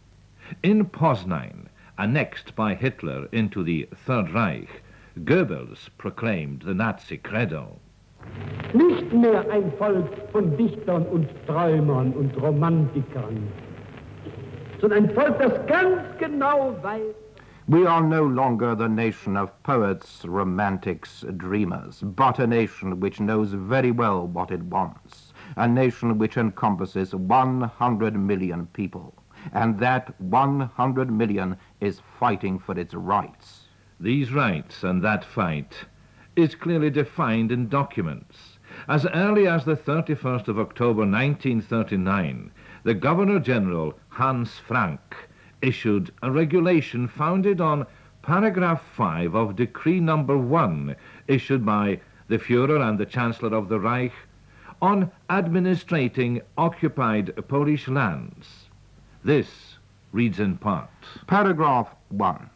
In Poznań, annexed by Hitler into the Third Reich, Goebbels proclaimed the Nazi credo. Nicht mehr ein Volk von Dichtern und Träumern und Romantikern, sondern ein Volk, das ganz genau weiß. We are no longer the nation of poets, romantics, dreamers, but a nation which knows very well what it wants, a nation which encompasses one hundred million people, and that one hundred million is fighting for its rights. These rights and that fight is clearly defined in documents. As early as the thirty-first of October nineteen thirty-nine, the Governor-General Hans Frank issued a regulation founded on paragraph five of Decree number one, issued by the Führer and the Chancellor of the Reich, on administrating occupied Polish lands. This reads in part. Paragraph one.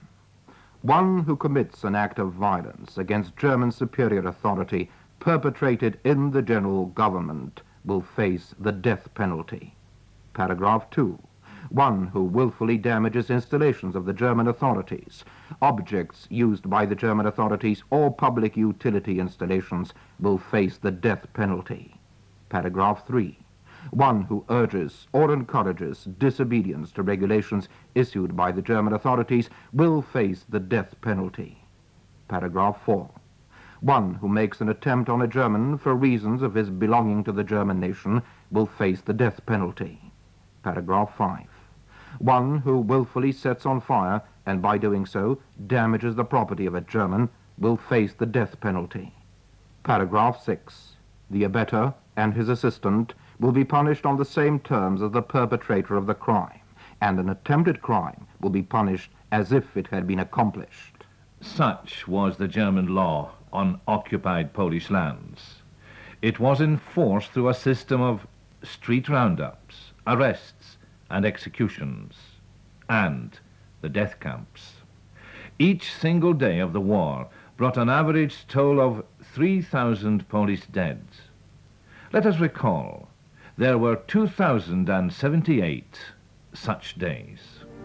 One who commits an act of violence against German superior authority perpetrated in the general government will face the death penalty. Paragraph two. One who willfully damages installations of the German authorities, objects used by the German authorities, or public utility installations will face the death penalty. Paragraph three. One who urges or encourages disobedience to regulations issued by the German authorities will face the death penalty. Paragraph four. One who makes an attempt on a German for reasons of his belonging to the German nation will face the death penalty. Paragraph five. One who willfully sets on fire and by doing so damages the property of a German will face the death penalty. Paragraph six. The abettor and his assistant will be punished on the same terms as the perpetrator of the crime, and an attempted crime will be punished as if it had been accomplished. Such was the German law on occupied Polish lands. It was enforced through a system of street roundups, arrests, and executions, and the death camps. Each single day of the war brought an average toll of three thousand Polish dead. Let us recall, there were two thousand seventy-eight such days.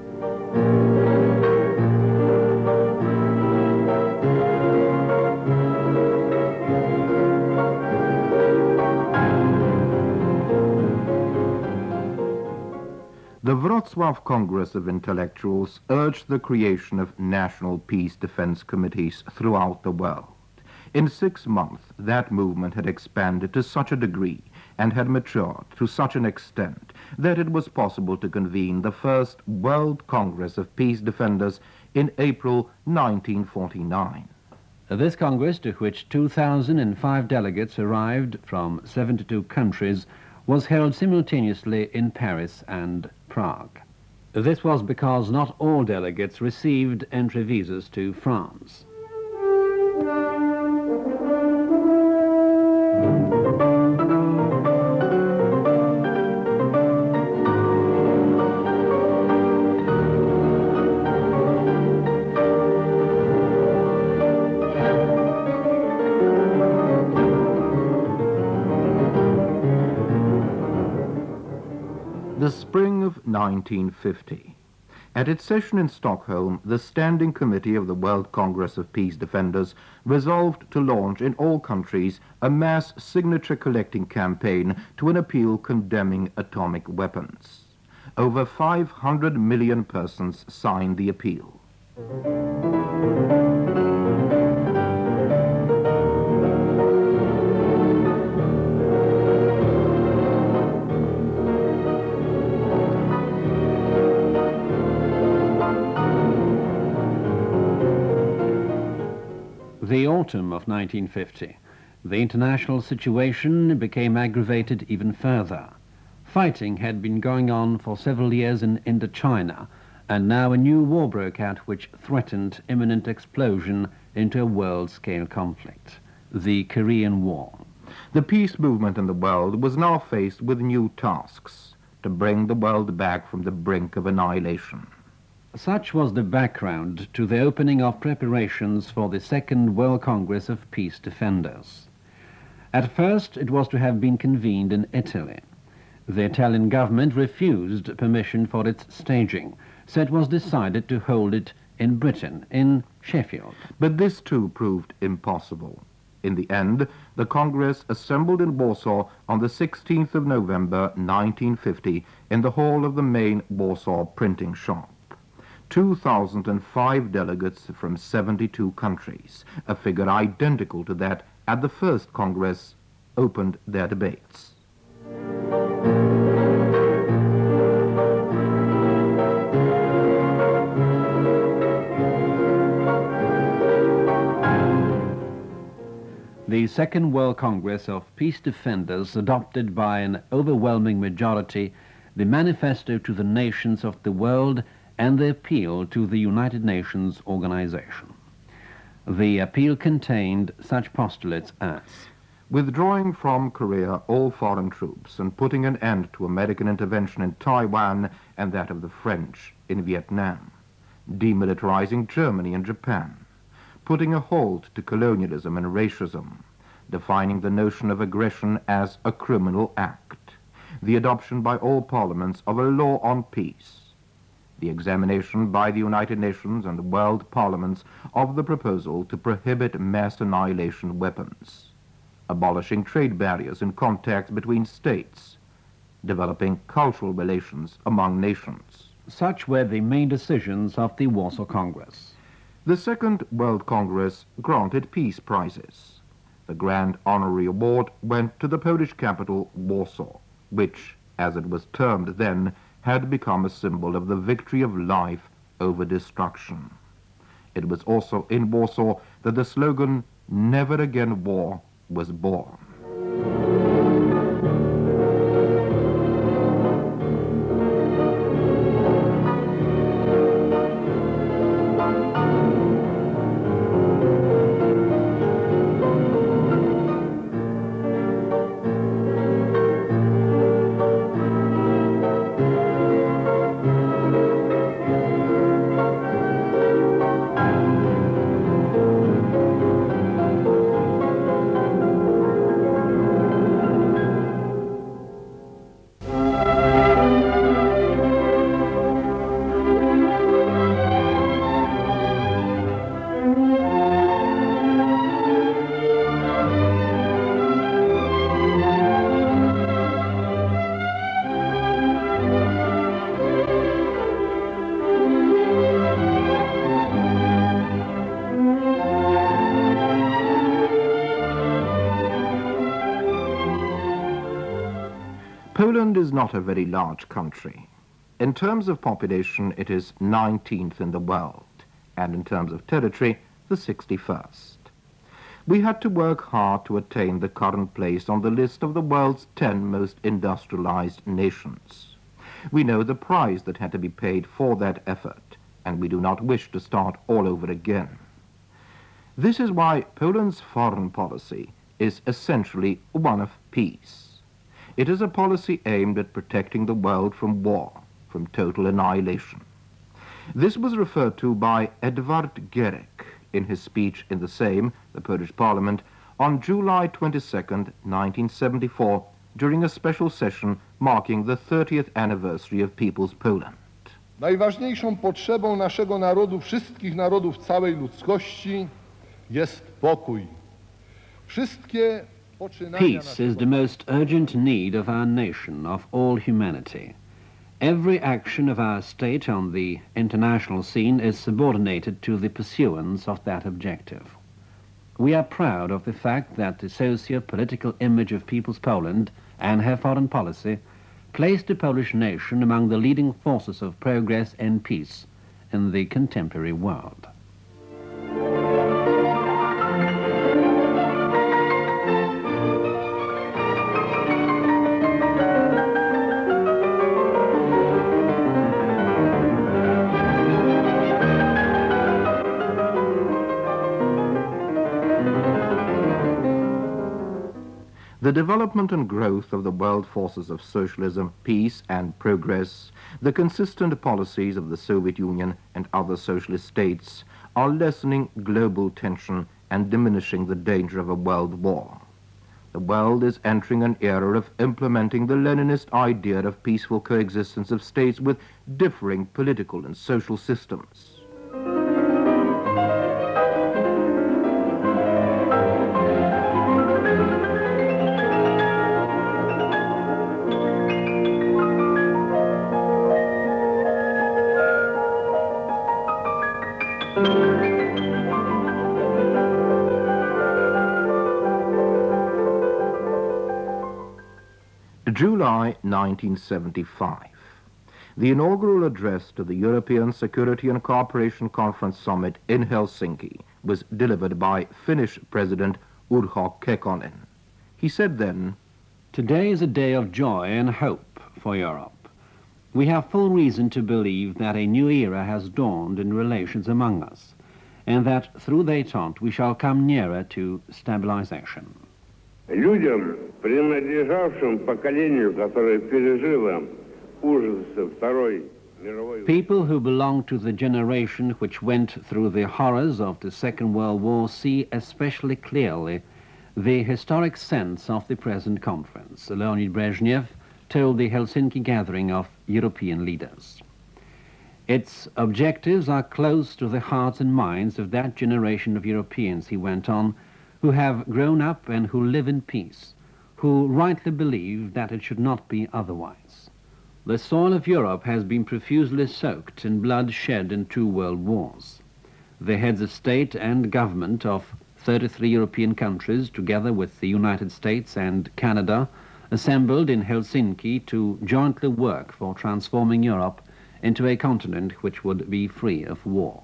The Wrocław Congress of Intellectuals urged the creation of national peace defense committees throughout the world. In six months, that movement had expanded to such a degree and had matured to such an extent that it was possible to convene the first World Congress of Peace Defenders in April nineteen forty-nine. This Congress, to which two thousand five delegates arrived from seventy-two countries, was held simultaneously in Paris and Prague. This was because not all delegates received entry visas to France. The spring of nineteen fifty. At its session in Stockholm, the Standing Committee of the World Congress of Peace Defenders resolved to launch in all countries a mass signature-collecting campaign to an appeal condemning atomic weapons. Over five hundred million persons signed the appeal. The autumn of nineteen fifty, the international situation became aggravated even further. Fighting had been going on for several years in Indochina, and now a new war broke out which threatened imminent explosion into a world-scale conflict, the Korean War. The peace movement in the world was now faced with new tasks to bring the world back from the brink of annihilation. Such was the background to the opening of preparations for the Second World Congress of Peace Defenders. At first, it was to have been convened in Italy. The Italian government refused permission for its staging, so it was decided to hold it in Britain, in Sheffield. But this too proved impossible. In the end, the Congress assembled in Warsaw on the sixteenth of November nineteen fifty in the hall of the main Warsaw printing shop. two thousand five delegates from seventy-two countries, a figure identical to that at the first Congress, opened their debates. The Second World Congress of Peace Defenders adopted by an overwhelming majority the Manifesto to the Nations of the World and the appeal to the United Nations Organization. The appeal contained such postulates as withdrawing from Korea all foreign troops and putting an end to American intervention in Taiwan and that of the French in Vietnam, demilitarizing Germany and Japan, putting a halt to colonialism and racism, defining the notion of aggression as a criminal act, the adoption by all parliaments of a law on peace, the examination by the United Nations and world parliaments of the proposal to prohibit mass annihilation weapons, abolishing trade barriers in contacts between states, developing cultural relations among nations. Such were the main decisions of the Warsaw Congress. The Second World Congress granted peace prizes. The Grand Honorary Award went to the Polish capital, Warsaw, which, as it was termed then, had become a symbol of the victory of life over destruction. It was also in Warsaw that the slogan, "Never Again War," was born. Poland is not a very large country. In terms of population, it is nineteenth in the world, and in terms of territory, the sixty-first. We had to work hard to attain the current place on the list of the world's ten most industrialized nations. We know the price that had to be paid for that effort, and we do not wish to start all over again. This is why Poland's foreign policy is essentially one of peace. It is a policy aimed at protecting the world from war, from total annihilation. This was referred to by Edward Gierek in his speech in the Sejm, the Polish Parliament, on July twenty-second, nineteen seventy-four, during a special session marking the thirtieth anniversary of People's Poland. Najważniejszą potrzebą naszego narodu, wszystkich narodów całej ludzkości, jest pokój. Wszystkie poczynania Peace is the most urgent need of our nation, of all humanity. Every action of our state on the international scene is subordinated to the pursuance of that objective. We are proud of the fact that the socio-political image of People's Poland and her foreign policy placed the Polish nation among the leading forces of progress and peace in the contemporary world. The development and growth of the world forces of socialism, peace and progress, the consistent policies of the Soviet Union and other socialist states are lessening global tension and diminishing the danger of a world war. The world is entering an era of implementing the Leninist idea of peaceful coexistence of states with differing political and social systems. July nineteen seventy-five. The inaugural address to the European Security and Cooperation Conference Summit in Helsinki was delivered by Finnish President Urho Kekkonen. He said then, "Today is a day of joy and hope for Europe. We have full reason to believe that a new era has dawned in relations among us, and that through détente we shall come nearer to stabilization." Людям, принадлежавшим поколению, которое пережило ужасы Второй мировой... People who belong to the generation which went through the horrors of the Second World War see especially clearly the historic sense of the present conference, Leonid Brezhnev told the Helsinki gathering of European leaders. Its objectives are close to the hearts and minds of that generation of Europeans, he went on, who have grown up and who live in peace, who rightly believe that it should not be otherwise. The soil of Europe has been profusely soaked in blood shed in two world wars. The heads of state and government of thirty-three European countries, together with the United States and Canada, assembled in Helsinki to jointly work for transforming Europe into a continent which would be free of war.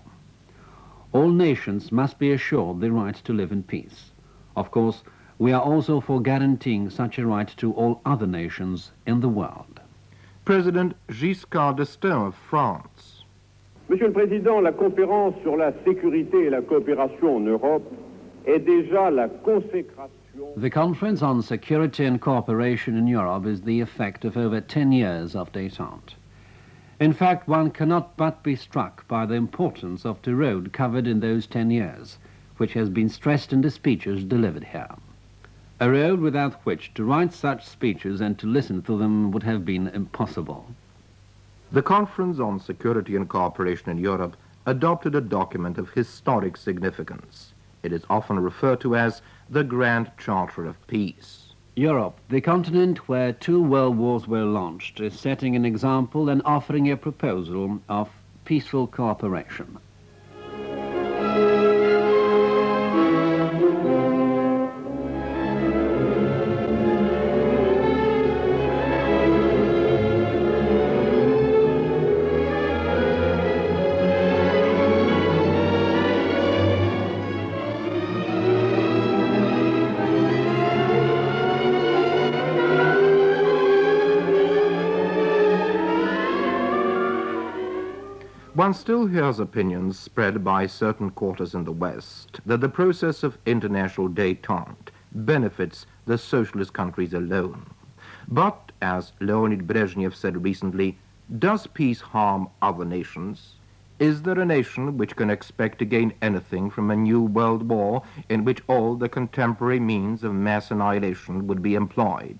All nations must be assured the right to live in peace. Of course, we are also for guaranteeing such a right to all other nations in the world. President Giscard d'Estaing of France. Monsieur le Président, la conférence sur la sécurité et la coopération en Europe est déjà la consécration. The Conference on Security and Cooperation in Europe is the effect of over ten years of détente. In fact, one cannot but be struck by the importance of the road covered in those ten years, which has been stressed in the speeches delivered here. A road without which to write such speeches and to listen to them would have been impossible. The Conference on Security and Cooperation in Europe adopted a document of historic significance. It is often referred to as the Grand Charter of Peace. Europe, the continent where two world wars were launched, is setting an example and offering a proposal of peaceful cooperation. One still hears opinions spread by certain quarters in the West that the process of international détente benefits the socialist countries alone. But, as Leonid Brezhnev said recently, does peace harm other nations? Is there a nation which can expect to gain anything from a new world war in which all the contemporary means of mass annihilation would be employed?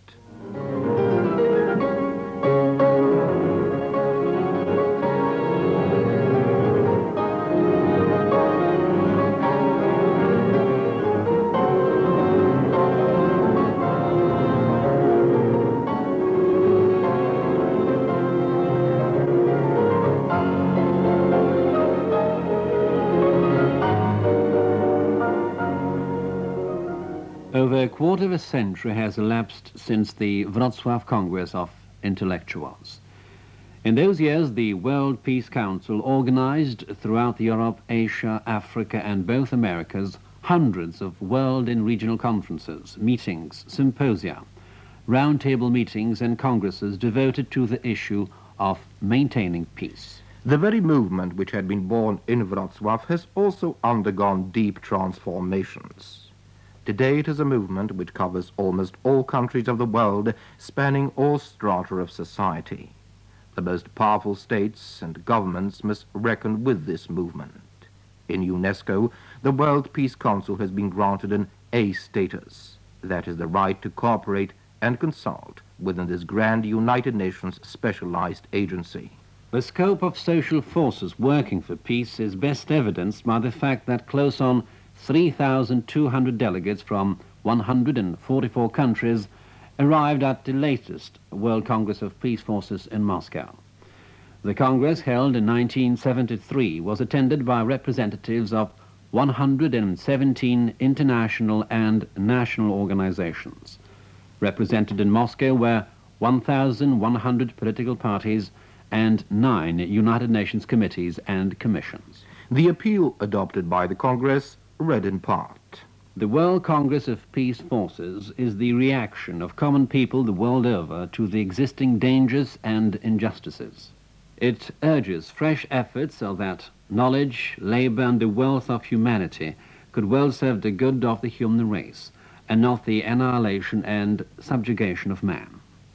a quarter of a century has elapsed since the Wrocław Congress of Intellectuals. In those years, the World Peace Council organized throughout Europe, Asia, Africa, and both Americas hundreds of world and regional conferences, meetings, symposia, roundtable meetings, and congresses devoted to the issue of maintaining peace. The very movement which had been born in Wrocław has also undergone deep transformations. Today it is a movement which covers almost all countries of the world, spanning all strata of society. The most powerful states and governments must reckon with this movement. In UNESCO, the World Peace Council has been granted an A status, that is the right to cooperate and consult within this grand United Nations specialized agency. The scope of social forces working for peace is best evidenced by the fact that close on three thousand two hundred delegates from one hundred forty-four countries arrived at the latest World Congress of Peace Forces in Moscow. The Congress, held in nineteen seventy-three, was attended by representatives of one hundred seventeen international and national organizations. Represented in Moscow were one thousand one hundred political parties and nine United Nations committees and commissions. The appeal adopted by the Congress read in part: The World Congress of Peace Forces is the reaction of common people the world over to the existing dangers and injustices. It urges fresh efforts so that knowledge, labor, and the wealth of humanity could well serve the good of the human race, and not the annihilation and subjugation of man.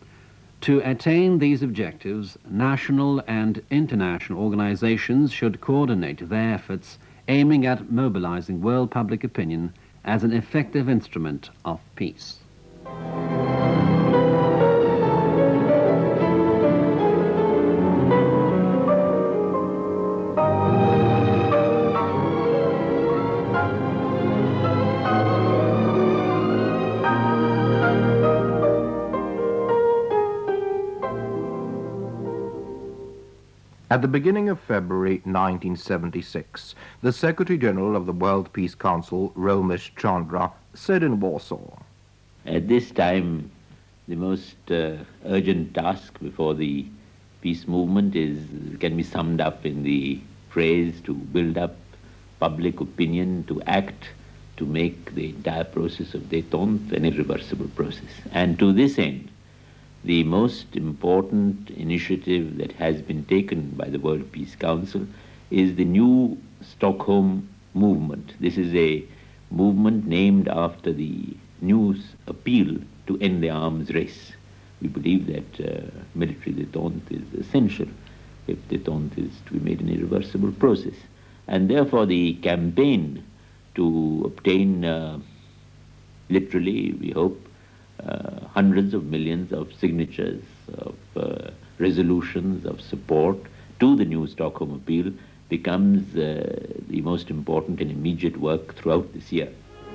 To attain these objectives, national and international organizations should coordinate their efforts, aiming at mobilizing world public opinion as an effective instrument of peace. At the beginning of February nineteen seventy-six, the Secretary-General of the World Peace Council, Romesh Chandra, said in Warsaw, At this time, the most uh, urgent task before the peace movement is can be summed up in the phrase to build up public opinion, to act, to make the entire process of détente an irreversible process. And to this end, the most important initiative that has been taken by the World Peace Council is the new Stockholm movement. This is a movement named after the new appeal to end the arms race. We believe that uh, military détente is essential if détente is to be made an irreversible process. And therefore the campaign to obtain, uh, literally, we hope, Uh, hundreds of millions of signatures, of uh, resolutions, of support to the new Stockholm appeal becomes uh, the most important and immediate work throughout this year.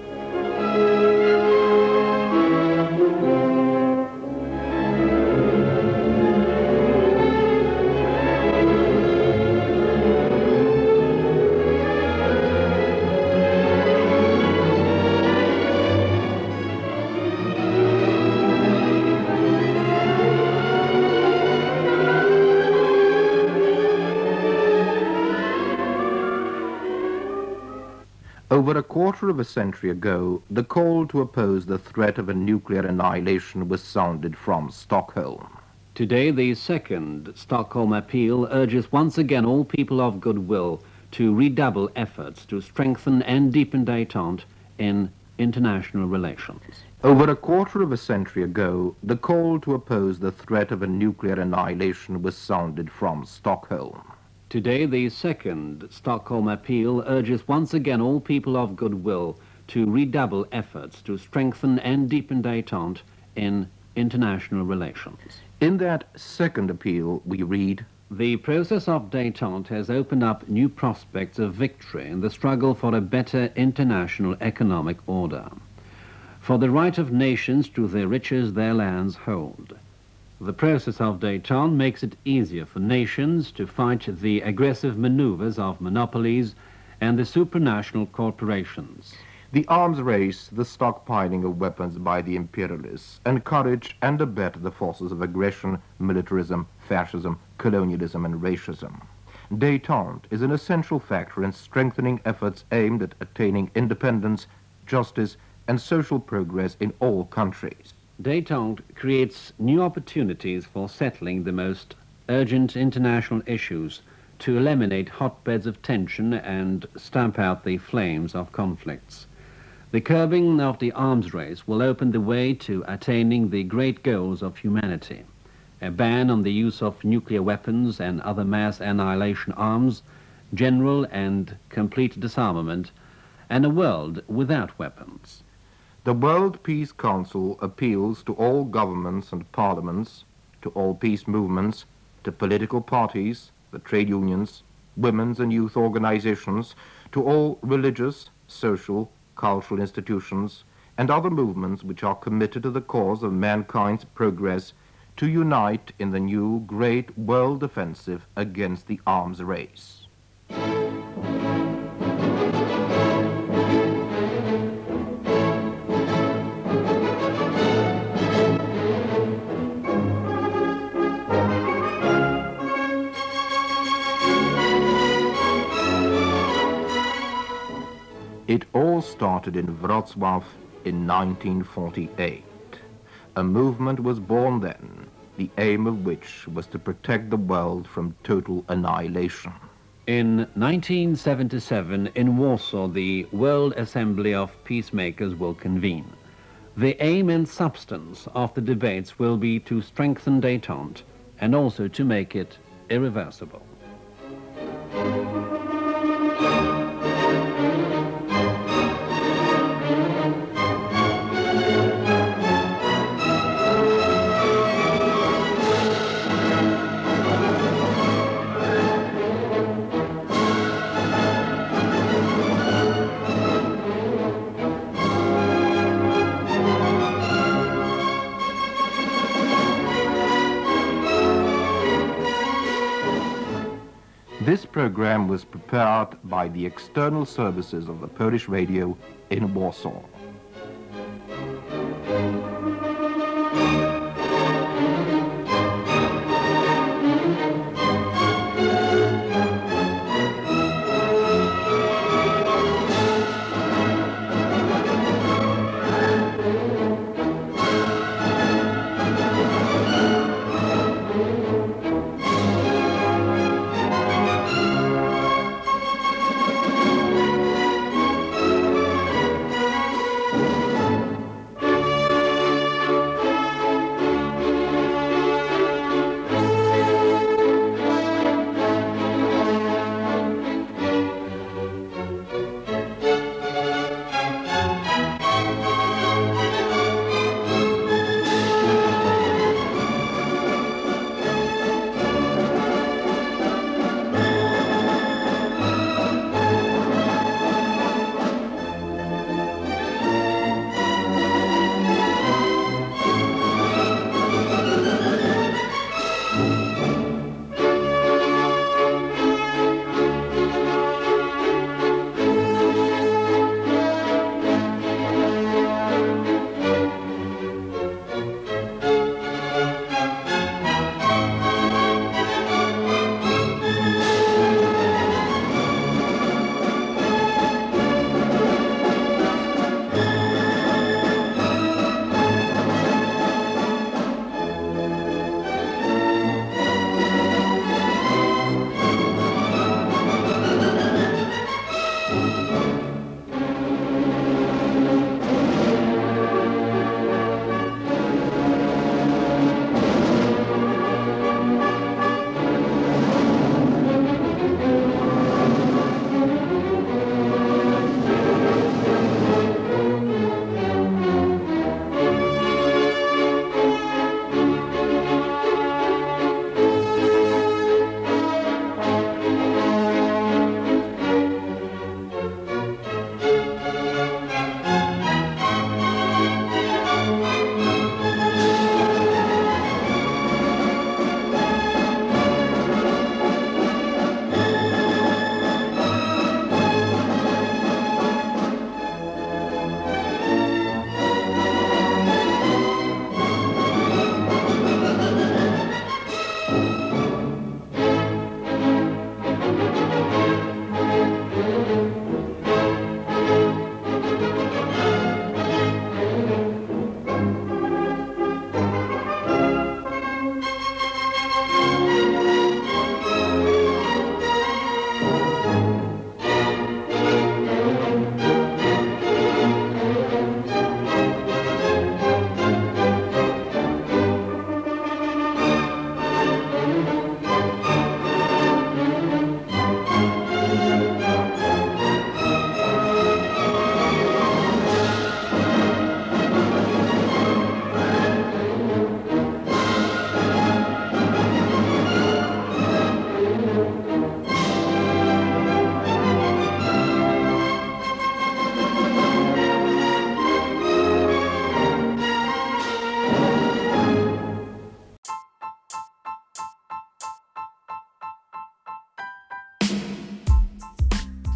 Over a quarter of a century ago, the call to oppose the threat of a nuclear annihilation was sounded from Stockholm. Today, the second Stockholm appeal urges once again all people of goodwill to redouble efforts to strengthen and deepen détente in international relations. Over a quarter of a century ago, the call to oppose the threat of a nuclear annihilation was sounded from Stockholm. Today, the second Stockholm appeal urges once again all people of goodwill to redouble efforts to strengthen and deepen détente in international relations. In that second appeal, we read, The process of détente has opened up new prospects of victory in the struggle for a better international economic order, for the right of nations to the riches their lands hold. The process of détente makes it easier for nations to fight the aggressive maneuvers of monopolies and the supranational corporations. The arms race, the stockpiling of weapons by the imperialists, encourage and abet the forces of aggression, militarism, fascism, colonialism, and racism. Détente is an essential factor in strengthening efforts aimed at attaining independence, justice, and social progress in all countries. Détente creates new opportunities for settling the most urgent international issues, to eliminate hotbeds of tension and stamp out the flames of conflicts. The curbing of the arms race will open the way to attaining the great goals of humanity: a ban on the use of nuclear weapons and other mass annihilation arms, general and complete disarmament, and a world without weapons. The World Peace Council appeals to all governments and parliaments, to all peace movements, to political parties, the trade unions, women's and youth organizations, to all religious, social, cultural institutions, and other movements which are committed to the cause of mankind's progress, to unite in the new great world offensive against the arms race. It all started in Wrocław in nineteen forty-eight. A movement was born then, the aim of which was to protect the world from total annihilation. In nineteen seventy-seven, in Warsaw, the World Assembly of Peacemakers will convene. The aim and substance of the debates will be to strengthen détente and also to make it irreversible. This program was prepared by the external services of the Polish radio in Warsaw.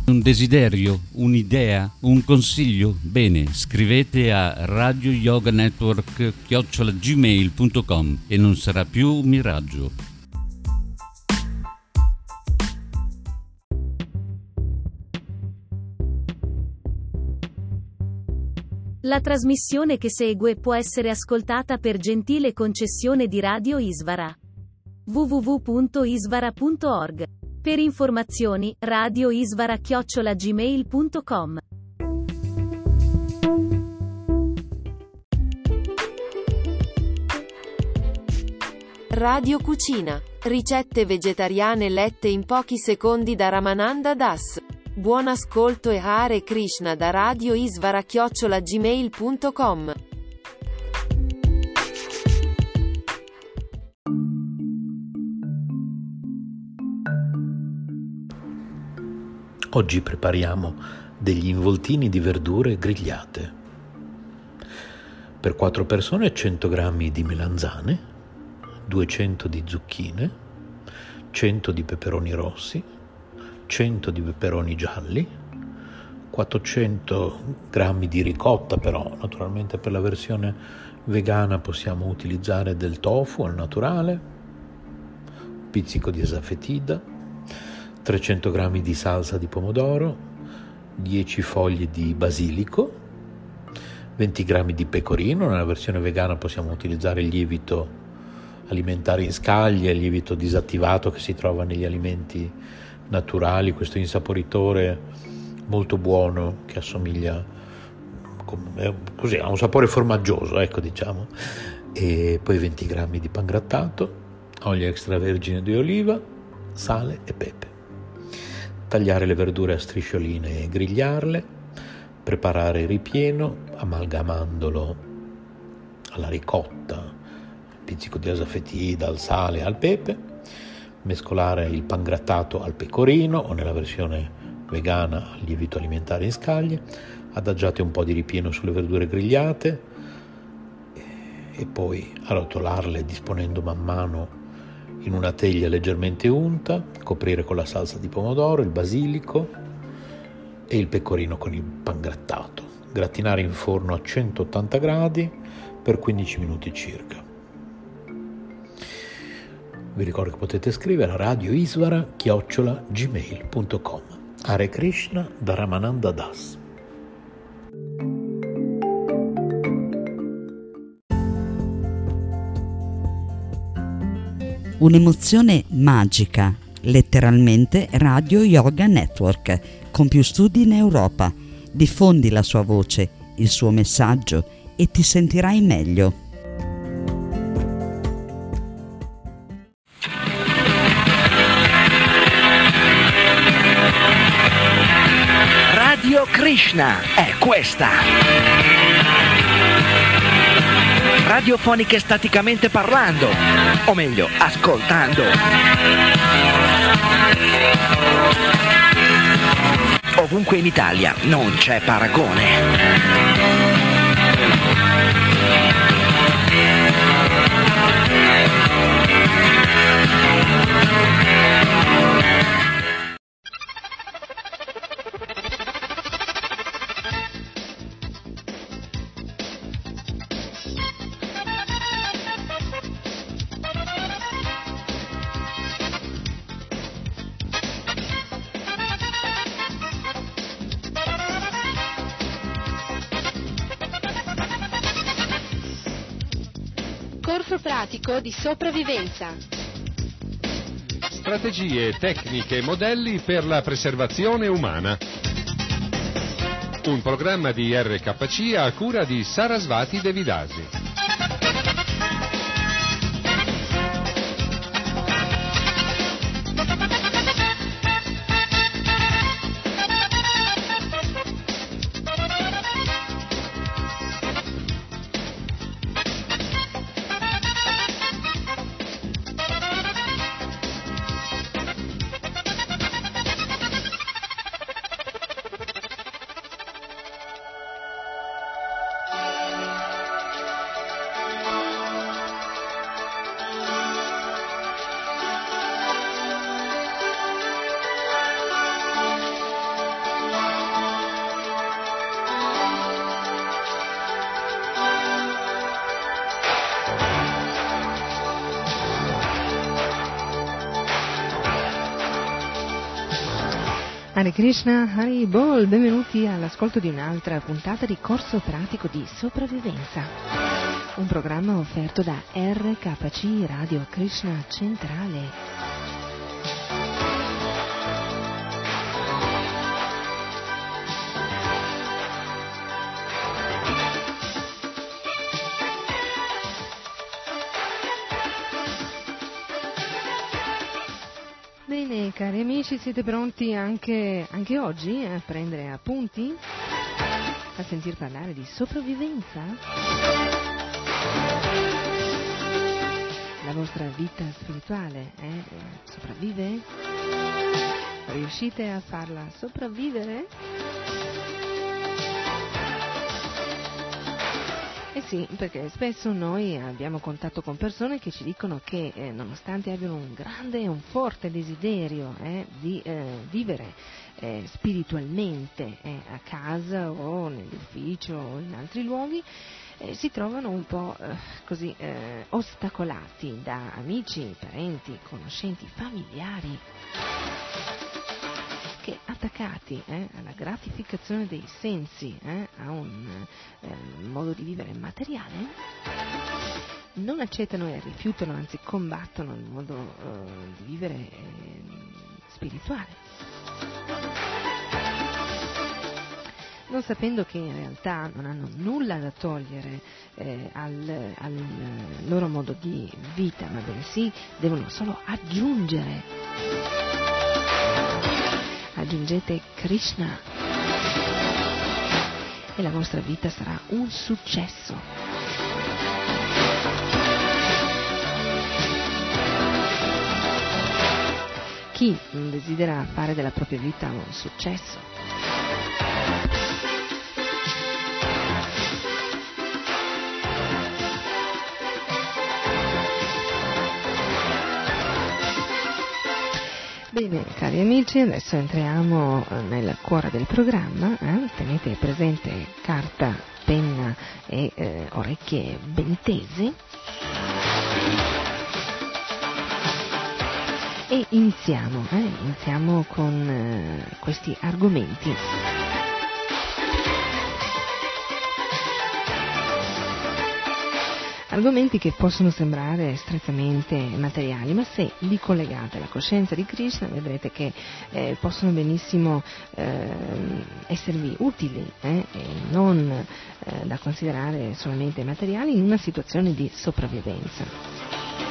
Un desiderio, un'idea, un consiglio? Bene, scrivete a radioyoganetwork chiocciola gmail punto com e non sarà più un miraggio. La trasmissione che segue può essere ascoltata per gentile concessione di Radio Isvara. w w w punto isvara punto org. Per informazioni, radioisvara chiocciola gmail punto com. Radio Cucina. Ricette vegetariane lette in pochi secondi da Ramananda Das. Buon ascolto e Hare Krishna da radioisvara chiocciola gmail punto com. Oggi prepariamo degli involtini di verdure grigliate. Per quattro persone cento grammi di melanzane, duecento di zucchine, cento di peperoni rossi, cento di peperoni gialli, quattrocento grammi di ricotta, però naturalmente per la versione vegana possiamo utilizzare del tofu al naturale, un pizzico di asafetida, trecento grammi di salsa di pomodoro, dieci foglie di basilico, venti grammi di pecorino. Nella versione vegana possiamo utilizzare il lievito alimentare in scaglie, il lievito disattivato che si trova negli alimenti naturali, questo insaporitore molto buono che assomiglia così, ha un sapore formaggioso, ecco, diciamo. E poi venti grammi di pangrattato, olio extravergine di oliva, sale e pepe. Tagliare le verdure a striscioline e grigliarle, preparare il ripieno amalgamandolo alla ricotta, al pizzico di asafetida, al sale, al pepe, mescolare il pangrattato al pecorino o nella versione vegana al lievito alimentare in scaglie, adagiate un po' di ripieno sulle verdure grigliate e poi arrotolarle disponendo man mano in una teglia leggermente unta, coprire con la salsa di pomodoro, il basilico e il pecorino con il pangrattato. Gratinare in forno a centottanta gradi per quindici minuti circa. Vi ricordo che potete scrivere a radioisvara chiocciola gmail punto com. Hare Krishna da Ramananda Das. Un'emozione magica, letteralmente Radio Yoga Network, con più studi in Europa. Diffondi la sua voce, il suo messaggio e ti sentirai meglio. Radio Krishna è questa. Radiofoniche staticamente parlando, o meglio, ascoltando. Ovunque in Italia non c'è paragone. Corso pratico di sopravvivenza. Strategie, tecniche e modelli per la preservazione umana. Un programma di R K C a cura di Sarasvati Devidasi. Hare Krishna, Hari Bol, benvenuti all'ascolto di un'altra puntata di Corso Pratico di Sopravvivenza, un programma offerto da R K C Radio Krishna Centrale. Bene, cari amici, siete pronti anche, anche oggi a prendere appunti? A sentir parlare di sopravvivenza? La vostra vita spirituale eh, sopravvive? Riuscite a farla sopravvivere? Eh sì, perché spesso noi abbiamo contatto con persone che ci dicono che eh, nonostante abbiano un grande e un forte desiderio eh, di eh, vivere eh, spiritualmente eh, a casa o nell'ufficio o in altri luoghi, eh, si trovano un po' eh, così eh, ostacolati da amici, parenti, conoscenti, familiari, che attaccati eh, alla gratificazione dei sensi, eh, a un eh, modo di vivere materiale, non accettano e rifiutano, anzi combattono il modo eh, di vivere eh, spirituale, non sapendo che in realtà non hanno nulla da togliere eh, al, al loro modo di vita, ma bensì devono solo aggiungere. Aggiungete Krishna e la vostra vita sarà un successo. Chi desidera fare della propria vita un successo? Bene, cari amici, adesso entriamo nel cuore del programma, eh? Tenete presente carta, penna e eh, orecchie ben tese e iniziamo, eh? iniziamo con eh, questi argomenti. Argomenti che possono sembrare strettamente materiali, ma se li collegate alla coscienza di Krishna vedrete che eh, possono benissimo eh, esservi utili eh, e non eh, da considerare solamente materiali in una situazione di sopravvivenza.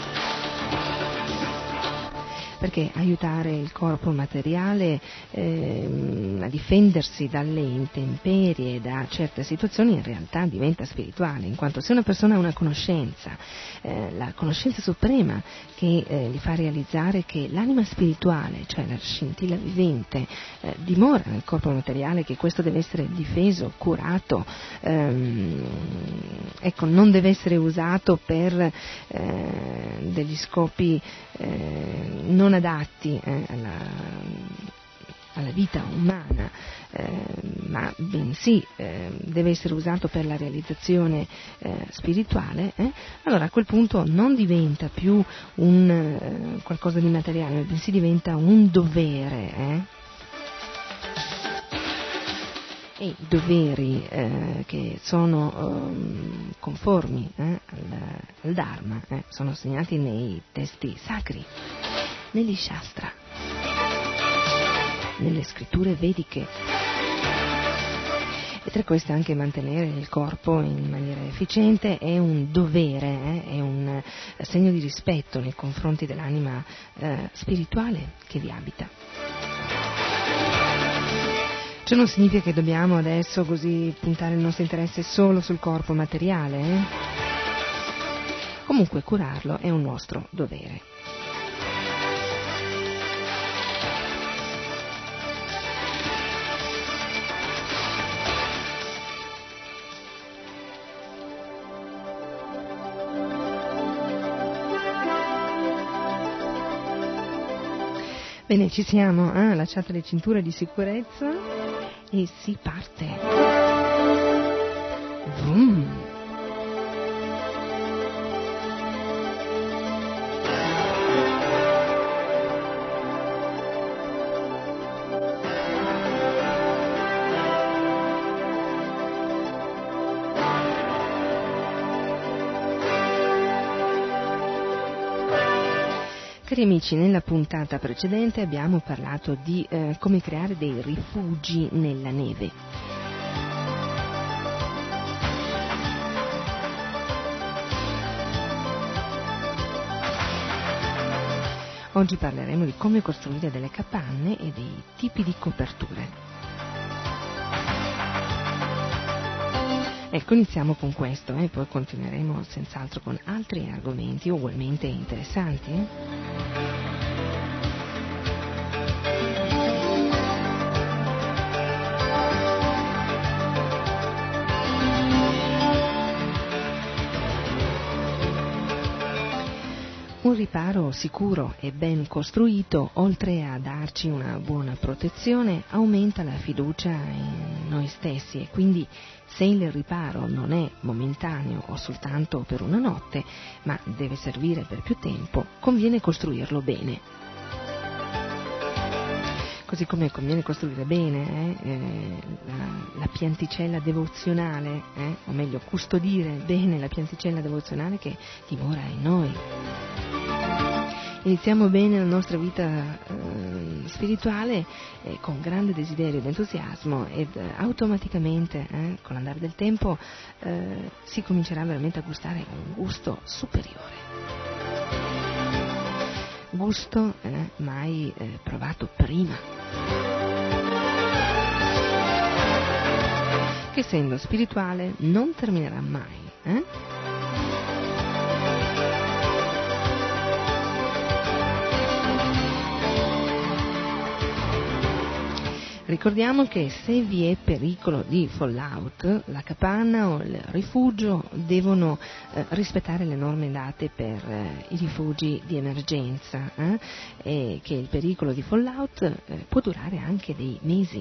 Perché aiutare il corpo materiale eh, a difendersi dalle intemperie, da certe situazioni, in realtà diventa spirituale, in quanto se una persona ha una conoscenza, eh, la conoscenza suprema che eh, gli fa realizzare che l'anima spirituale, cioè la scintilla vivente, eh, dimora nel corpo materiale, che questo deve essere difeso, curato, ehm, ecco, non deve essere usato per eh, degli scopi eh, non non adatti eh, alla, alla vita umana, eh, ma bensì eh, deve essere usato per la realizzazione eh, spirituale, eh, allora a quel punto non diventa più un eh, qualcosa di materiale, bensì diventa un dovere. Eh? E i doveri eh, che sono eh, conformi eh, al, al Dharma eh, sono segnati nei testi sacri, negli Shastra, nelle scritture vediche, e tra queste anche mantenere il corpo in maniera efficiente è un dovere, eh, è un segno di rispetto nei confronti dell'anima eh, spirituale che vi abita. Ciò non significa che dobbiamo adesso così puntare il nostro interesse solo sul corpo materiale, eh? Comunque curarlo è un nostro dovere. Bene, ci siamo, eh? Allacciate le cinture di sicurezza e si parte. Vroom. Cari amici, nella puntata precedente abbiamo parlato di eh, come creare dei rifugi nella neve. Oggi parleremo di come costruire delle capanne e dei tipi di coperture. Ecco, iniziamo con questo e eh, poi continueremo senz'altro con altri argomenti ugualmente interessanti. Eh? Un riparo sicuro e ben costruito, oltre a darci una buona protezione, aumenta la fiducia in noi stessi e quindi se il riparo non è momentaneo o soltanto per una notte, ma deve servire per più tempo, conviene costruirlo bene. Così come conviene costruire bene eh, eh, la, la pianticella devozionale, eh, o meglio custodire bene la pianticella devozionale che dimora in noi. Iniziamo bene la nostra vita eh, spirituale eh, con grande desiderio ed entusiasmo ed eh, automaticamente eh, con l'andare del tempo eh, si comincerà veramente a gustare un gusto superiore. Gusto eh, mai eh, provato prima. Che essendo spirituale non terminerà mai. Eh? Ricordiamo che se vi è pericolo di fallout, la capanna o il rifugio devono eh, rispettare le norme date per eh, i rifugi di emergenza eh, e che il pericolo di fallout eh, può durare anche dei mesi.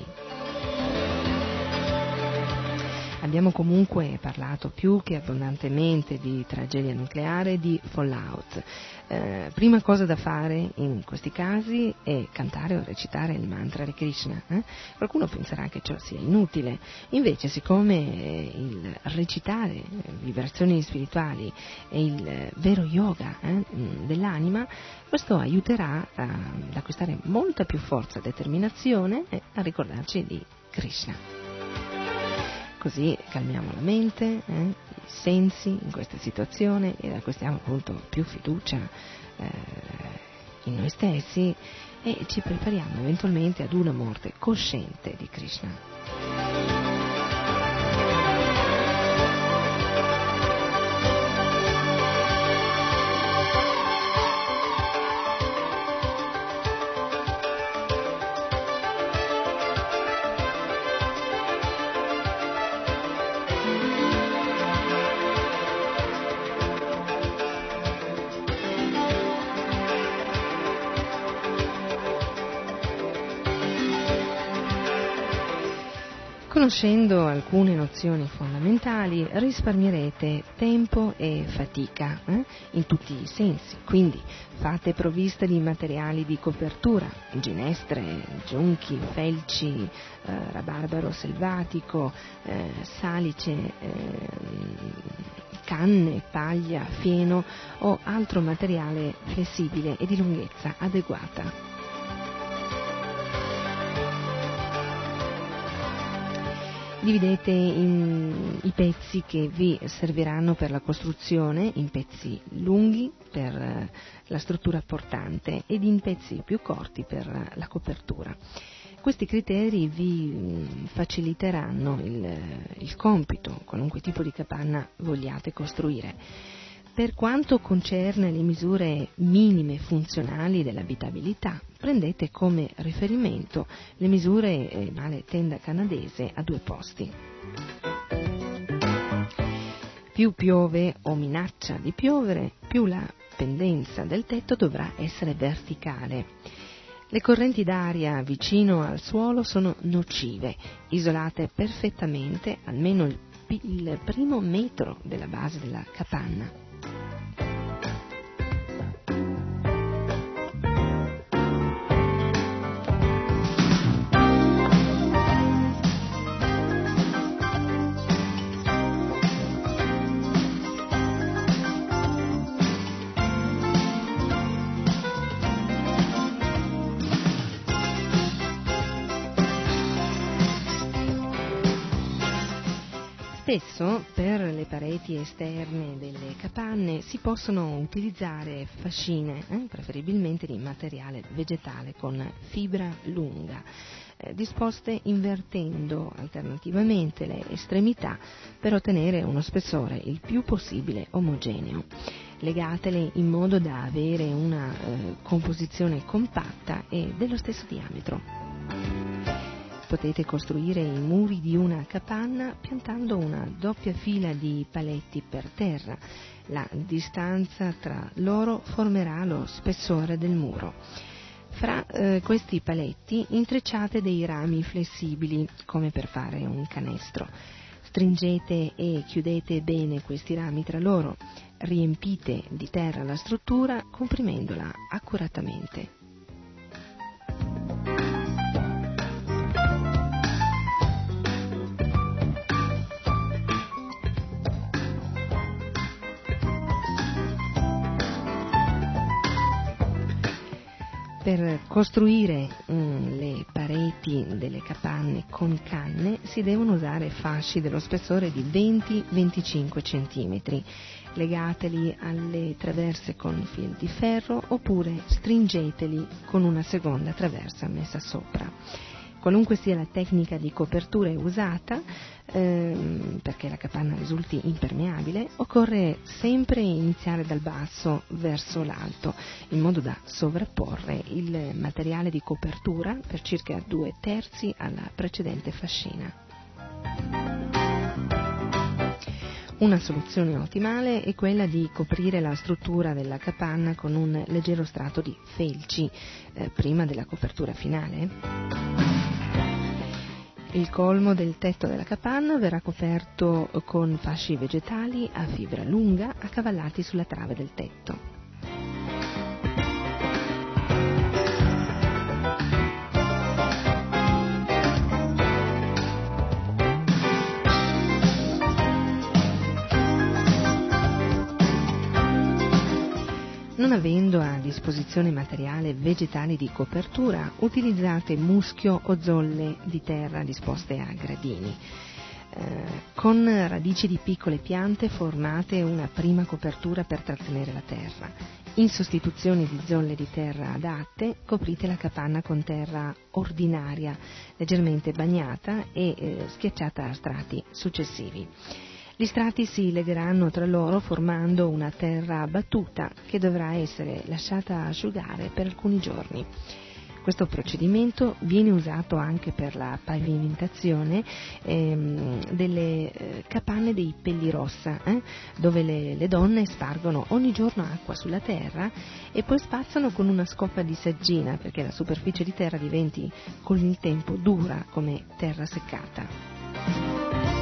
Abbiamo comunque parlato più che abbondantemente di tragedia nucleare e di fallout. Eh, prima cosa da fare in questi casi è cantare o recitare il mantra di Krishna. Eh? Qualcuno penserà che ciò sia inutile, invece siccome eh, il recitare vibrazioni spirituali è il eh, vero yoga eh, dell'anima, questo aiuterà a, ad acquistare molta più forza e determinazione e a ricordarci di Krishna. Così calmiamo la mente, eh, i sensi in questa situazione ed acquistiamo appunto più fiducia eh, in noi stessi e ci prepariamo eventualmente ad una morte cosciente di Krishna. Conoscendo alcune nozioni fondamentali risparmierete tempo e fatica eh, in tutti i sensi, quindi fate provvista di materiali di copertura, ginestre, giunchi, felci, eh, rabarbaro selvatico, eh, salice, eh, canne, paglia, fieno o altro materiale flessibile e di lunghezza adeguata. Dividete in, i pezzi che vi serviranno per la costruzione in pezzi lunghi per eh, la struttura portante ed in pezzi più corti per eh, la copertura. Questi criteri vi mh, faciliteranno il, il compito, qualunque tipo di capanna vogliate costruire. Per quanto concerne le misure minime funzionali dell'abitabilità, prendete come riferimento le misure eh, male tenda canadese a due posti. Più piove o minaccia di piovere, più la pendenza del tetto dovrà essere verticale. Le correnti d'aria vicino al suolo sono nocive, isolate perfettamente almeno il, il primo metro della base della capanna. Spesso per le pareti esterne delle capanne si possono utilizzare fascine, eh, preferibilmente di materiale vegetale con fibra lunga, eh, disposte invertendo alternativamente le estremità per ottenere uno spessore il più possibile omogeneo. Legatele in modo da avere una eh, composizione compatta e dello stesso diametro. Potete costruire i muri di una capanna piantando una doppia fila di paletti per terra. La distanza tra loro formerà lo spessore del muro. Fra eh, questi paletti intrecciate dei rami flessibili, come per fare un canestro. Stringete e chiudete bene questi rami tra loro. Riempite di terra la struttura comprimendola accuratamente. Per costruire mm, le pareti delle capanne con canne si devono usare fasci dello spessore di venti venticinque centimetri. Legateli alle traverse con fil di ferro oppure stringeteli con una seconda traversa messa sopra. Qualunque sia la tecnica di copertura usata, ehm, perché la capanna risulti impermeabile, occorre sempre iniziare dal basso verso l'alto, in modo da sovrapporre il materiale di copertura per circa due terzi alla precedente fascina. Una soluzione ottimale è quella di coprire la struttura della capanna con un leggero strato di felci eh, prima della copertura finale. Il colmo del tetto della capanna verrà coperto con fasci vegetali a fibra lunga accavallati sulla trave del tetto. Non avendo a disposizione materiale vegetale di copertura, utilizzate muschio o zolle di terra disposte a gradini. Eh, con radici di piccole piante formate una prima copertura per trattenere la terra. In sostituzione di zolle di terra adatte, coprite la capanna con terra ordinaria, leggermente bagnata e eh, schiacciata a strati successivi. Gli strati si legheranno tra loro formando una terra battuta che dovrà essere lasciata asciugare per alcuni giorni. Questo procedimento viene usato anche per la pavimentazione ehm, delle eh, capanne dei Pellirossa, eh, dove le, le donne spargono ogni giorno acqua sulla terra e poi spazzano con una scoppa di saggina perché la superficie di terra diventi con il tempo dura come terra seccata.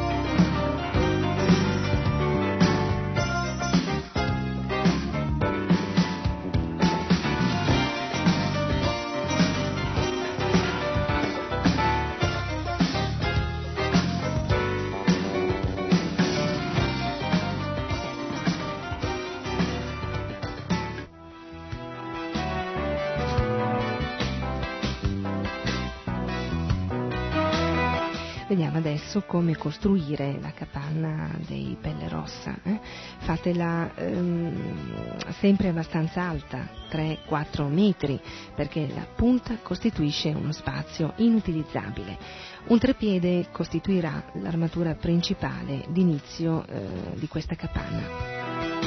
Vediamo adesso come costruire la capanna dei Pellirossa. Eh? Fatela ehm, sempre abbastanza alta, tre quattro metri, perché la punta costituisce uno spazio inutilizzabile. Un trepiede costituirà l'armatura principale d'inizio eh, di questa capanna.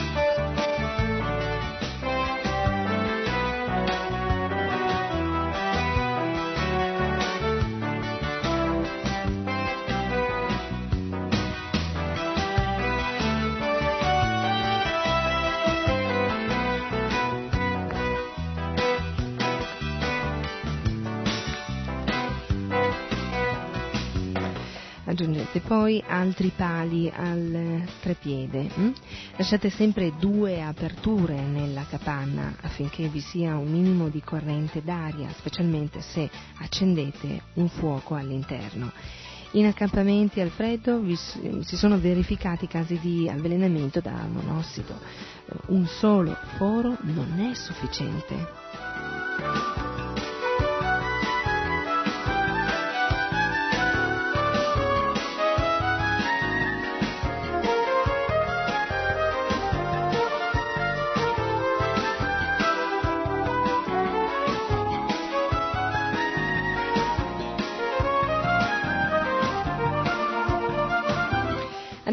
Aggiungete poi altri pali al trepiede. Hm? Lasciate sempre due aperture nella capanna affinché vi sia un minimo di corrente d'aria, specialmente se accendete un fuoco all'interno. In accampamenti al freddo vi, si sono verificati casi di avvelenamento da monossido. Un solo foro non è sufficiente.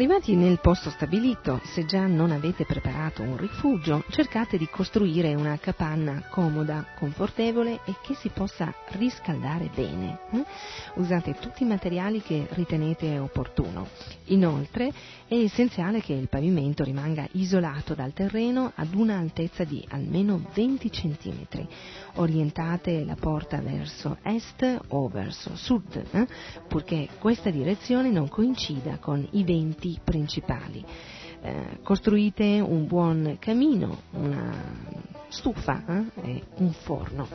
Arrivati nel posto stabilito, se già non avete preparato un rifugio, cercate di costruire una capanna comoda, confortevole e che si possa riscaldare bene. Usate tutti i materiali che ritenete opportuno. Inoltre è essenziale che il pavimento rimanga isolato dal terreno ad una altezza di almeno venti centimetri. Orientate la porta verso est o verso sud, eh? purché questa direzione non coincida con i venti principali. Eh, costruite un buon camino, una stufa eh? e un forno.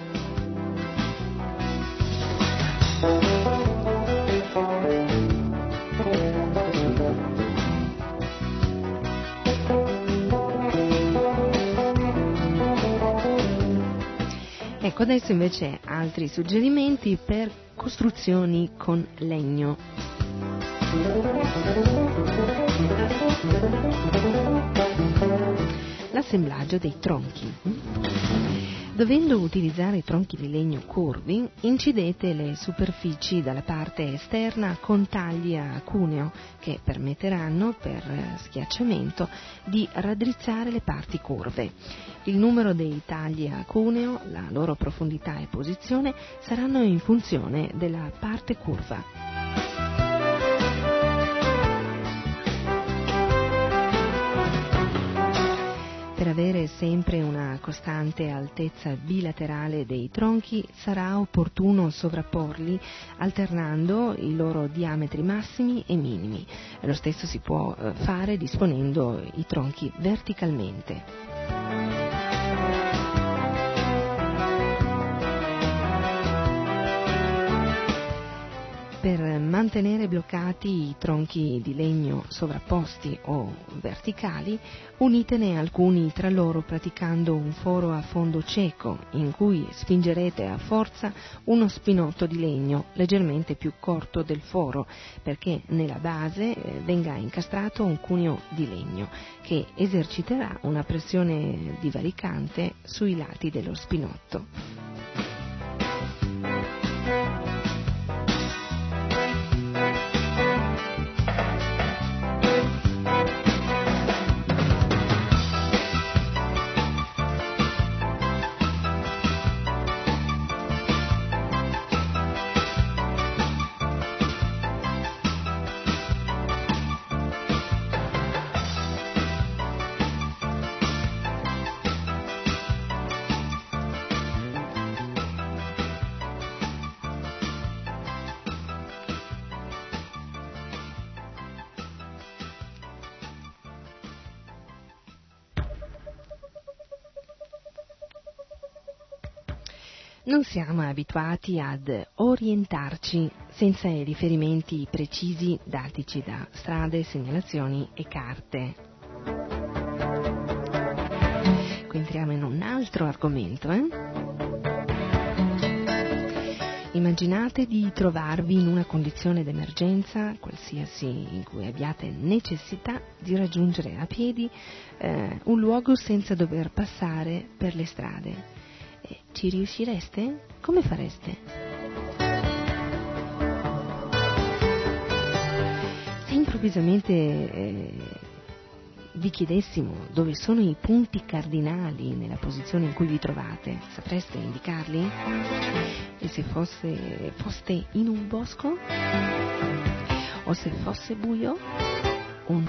Ecco, adesso invece altri suggerimenti per costruzioni con legno. L'assemblaggio dei tronchi. Dovendo utilizzare tronchi di legno curvi, incidete le superfici dalla parte esterna con tagli a cuneo che permetteranno, per schiacciamento, di raddrizzare le parti curve. Il numero dei tagli a cuneo, la loro profondità e posizione saranno in funzione della parte curva. Per avere sempre una costante altezza bilaterale dei tronchi sarà opportuno sovrapporli alternando i loro diametri massimi e minimi. Lo stesso si può fare disponendo i tronchi verticalmente. Per mantenere bloccati i tronchi di legno sovrapposti o verticali, unitene alcuni tra loro praticando un foro a fondo cieco in cui spingerete a forza uno spinotto di legno leggermente più corto del foro perché nella base venga incastrato un cuneo di legno che eserciterà una pressione divaricante sui lati dello spinotto. Non siamo abituati ad orientarci senza i riferimenti precisi datici da strade, segnalazioni e carte. Qui entriamo in un altro argomento, eh? Immaginate di trovarvi in una condizione d'emergenza, qualsiasi, in cui abbiate necessità di raggiungere a piedi eh, un luogo senza dover passare per le strade. Ci riuscireste? Come fareste? Se improvvisamente eh, vi chiedessimo dove sono i punti cardinali nella posizione in cui vi trovate, sapreste indicarli? E se fosse, foste in un bosco? O se fosse buio? Un...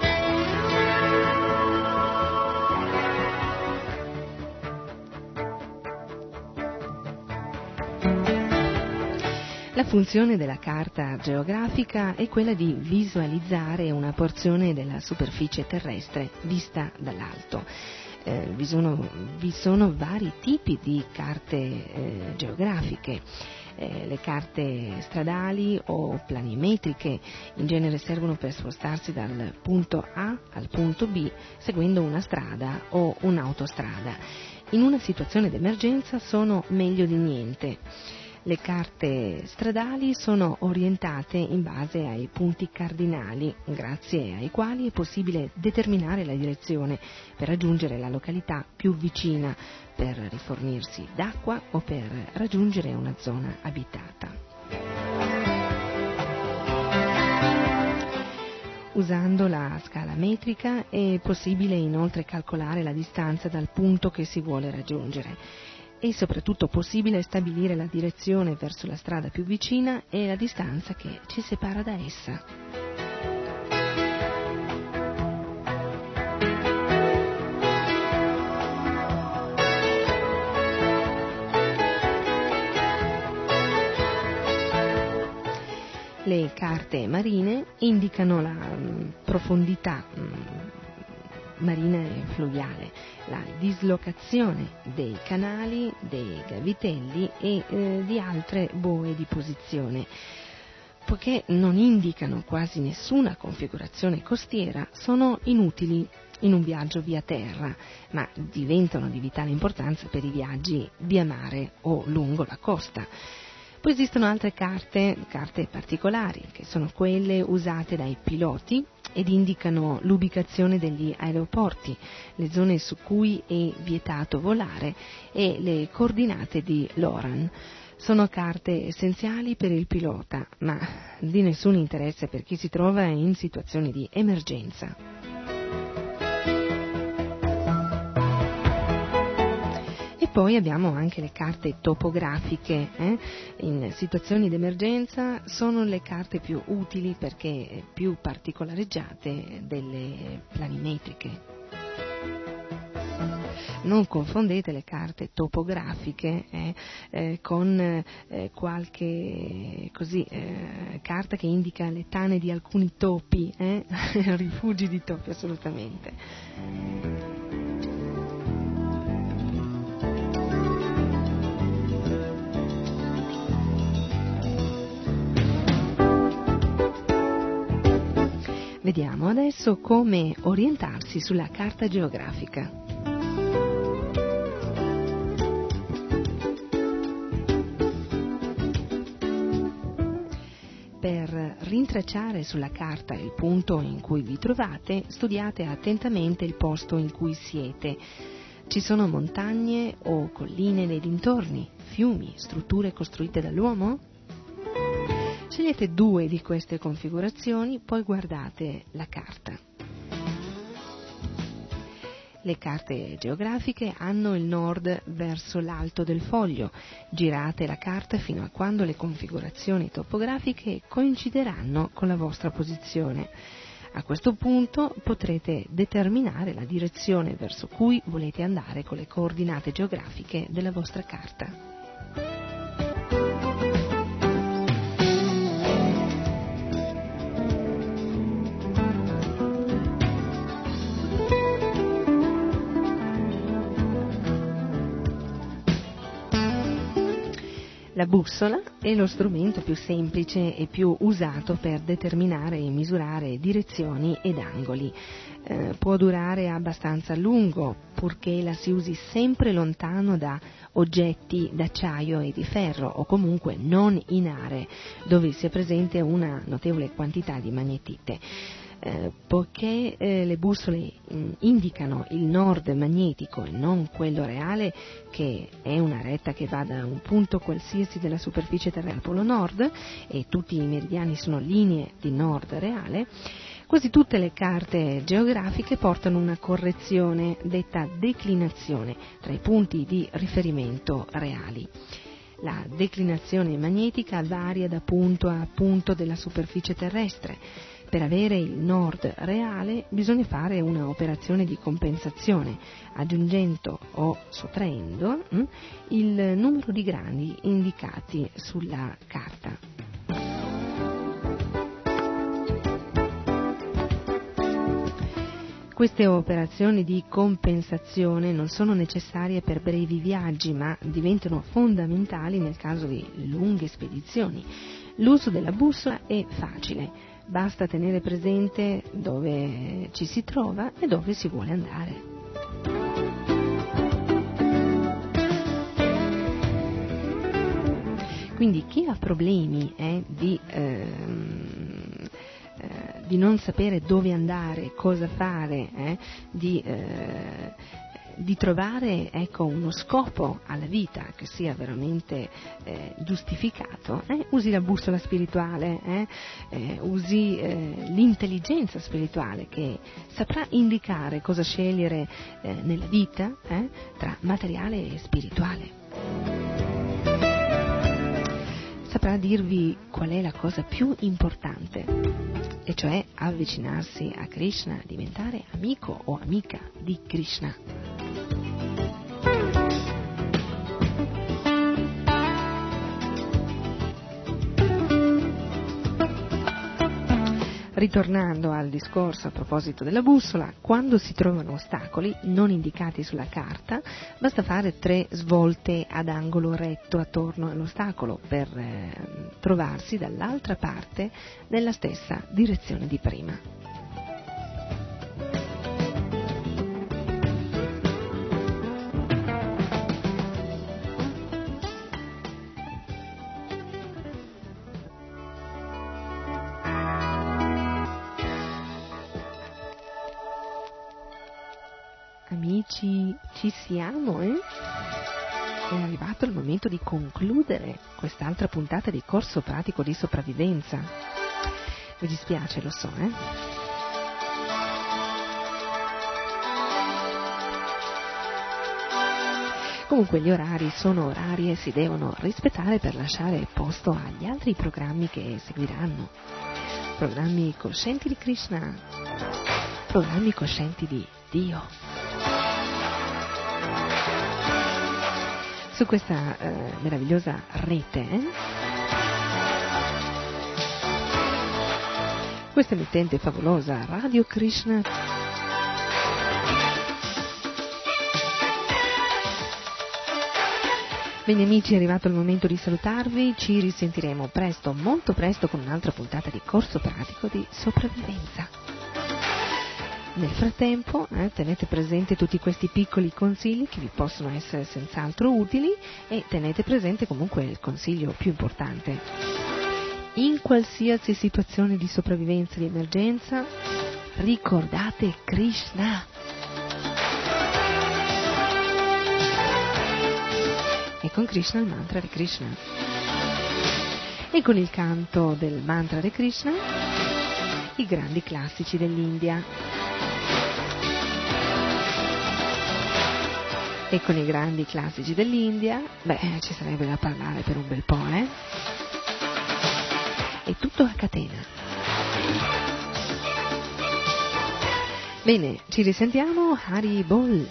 La funzione della carta geografica è quella di visualizzare una porzione della superficie terrestre vista dall'alto. Eh, vi, sono, vi sono vari tipi di carte eh, geografiche. Eh, le carte stradali o planimetriche in genere servono per spostarsi dal punto A al punto B seguendo una strada o un'autostrada. In una situazione d'emergenza sono meglio di niente. Le carte stradali sono orientate in base ai punti cardinali, grazie ai quali è possibile determinare la direzione per raggiungere la località più vicina, per rifornirsi d'acqua o per raggiungere una zona abitata. Usando la scala metrica è possibile inoltre calcolare la distanza dal punto che si vuole raggiungere. È soprattutto possibile stabilire la direzione verso la strada più vicina e la distanza che ci separa da essa. Le carte marine indicano la mh, profondità mh, marina e fluviale, la dislocazione dei canali, dei gavitelli e eh, di altre boe di posizione. Poiché non indicano quasi nessuna configurazione costiera, sono inutili in un viaggio via terra, ma diventano di vitale importanza per i viaggi via mare o lungo la costa. Poi esistono altre carte, carte particolari, che sono quelle usate dai piloti ed indicano l'ubicazione degli aeroporti, le zone su cui è vietato volare e le coordinate di LORAN. Sono carte essenziali per il pilota, ma di nessun interesse per chi si trova in situazioni di emergenza. Poi abbiamo anche le carte topografiche, eh? In situazioni d'emergenza sono le carte più utili perché più particolareggiate delle planimetriche. Non confondete le carte topografiche eh, eh, con eh, qualche così, eh, carta che indica le tane di alcuni topi, eh? rifugi di topi assolutamente. Vediamo adesso come orientarsi sulla carta geografica. Per rintracciare sulla carta il punto in cui vi trovate, studiate attentamente il posto in cui siete. Ci sono montagne o colline nei dintorni, fiumi, strutture costruite dall'uomo? Scegliete due di queste configurazioni, poi guardate la carta. Le carte geografiche hanno il nord verso l'alto del foglio. Girate la carta fino a quando le configurazioni topografiche coincideranno con la vostra posizione. A questo punto potrete determinare la direzione verso cui volete andare con le coordinate geografiche della vostra carta. La bussola è lo strumento più semplice e più usato per determinare e misurare direzioni ed angoli. Eh, può durare abbastanza a lungo, purché la si usi sempre lontano da oggetti d'acciaio e di ferro, o comunque non in aree dove sia presente una notevole quantità di magnetite. Eh, poiché eh, le bussole mh, indicano il nord magnetico e non quello reale, che è una retta che va da un punto qualsiasi della superficie terrestre al polo nord, e tutti i meridiani sono linee di nord reale, quasi tutte le carte geografiche portano una correzione detta declinazione tra i punti di riferimento reali. La declinazione magnetica varia da punto a punto della superficie terrestre. Per avere il nord reale bisogna fare una operazione di compensazione, aggiungendo o sottraendo hm, il numero di gradi indicati sulla carta. Queste operazioni di compensazione non sono necessarie per brevi viaggi, ma diventano fondamentali nel caso di lunghe spedizioni. L'uso della bussola è facile. Basta tenere presente dove ci si trova e dove si vuole andare. Quindi chi ha problemi eh, di, ehm, eh, di non sapere dove andare, cosa fare, eh, di, eh, di trovare, ecco, uno scopo alla vita che sia veramente eh, giustificato, eh, usi la bussola spirituale, eh, eh, usi eh, l'intelligenza spirituale che saprà indicare cosa scegliere eh, nella vita eh, tra materiale e spirituale. Saprà dirvi qual è la cosa più importante, e cioè avvicinarsi a Krishna, diventare amico o amica di Krishna. Ritornando al discorso a proposito della bussola, quando si trovano ostacoli non indicati sulla carta, basta fare tre svolte ad angolo retto attorno all'ostacolo per eh, trovarsi dall'altra parte nella stessa direzione di prima. Amici, ci siamo, eh? È arrivato il momento di concludere quest'altra puntata di corso pratico di sopravvivenza. Mi dispiace, lo so, eh? Comunque gli orari sono orari e si devono rispettare per lasciare posto agli altri programmi che seguiranno. Programmi coscienti di Krishna, programmi coscienti di Dio. Su questa eh, meravigliosa rete, eh? Questa emittente favolosa Radio Krishna. Bene amici, è arrivato il momento di salutarvi, ci risentiremo presto, molto presto, con un'altra puntata di corso pratico di sopravvivenza. Nel frattempo eh, tenete presente tutti questi piccoli consigli che vi possono essere senz'altro utili, e tenete presente comunque il consiglio più importante. In qualsiasi situazione di sopravvivenza, di emergenza, ricordate Krishna. E con Krishna il mantra di Krishna. E con il canto del mantra di Krishna, i grandi classici dell'India. E con i grandi classici dell'India, beh, ci sarebbe da parlare per un bel po', eh? È tutto a catena. Bene, ci risentiamo, Hari Bol.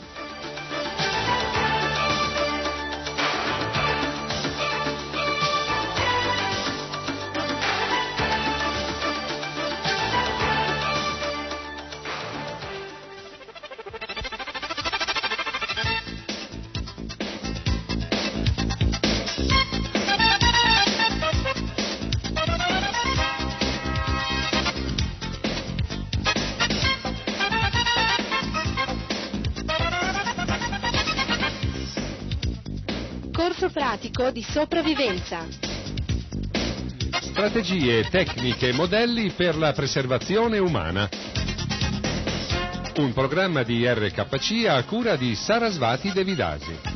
Pratico di sopravvivenza. Strategie, tecniche e modelli per la preservazione umana. Un programma di R K C a cura di Sarasvati Devidasi.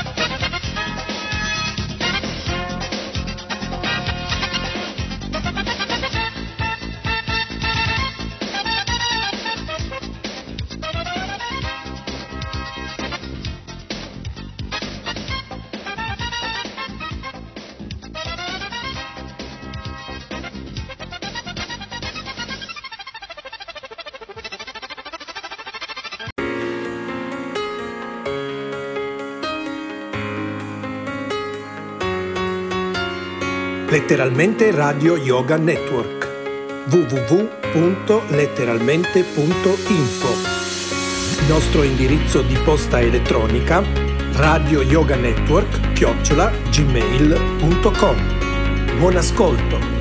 Letteralmente Radio Yoga Network w w w punto letteralmente punto info. Nostro indirizzo di posta elettronica radio yoga network chiocciola gmail punto com. Buon ascolto.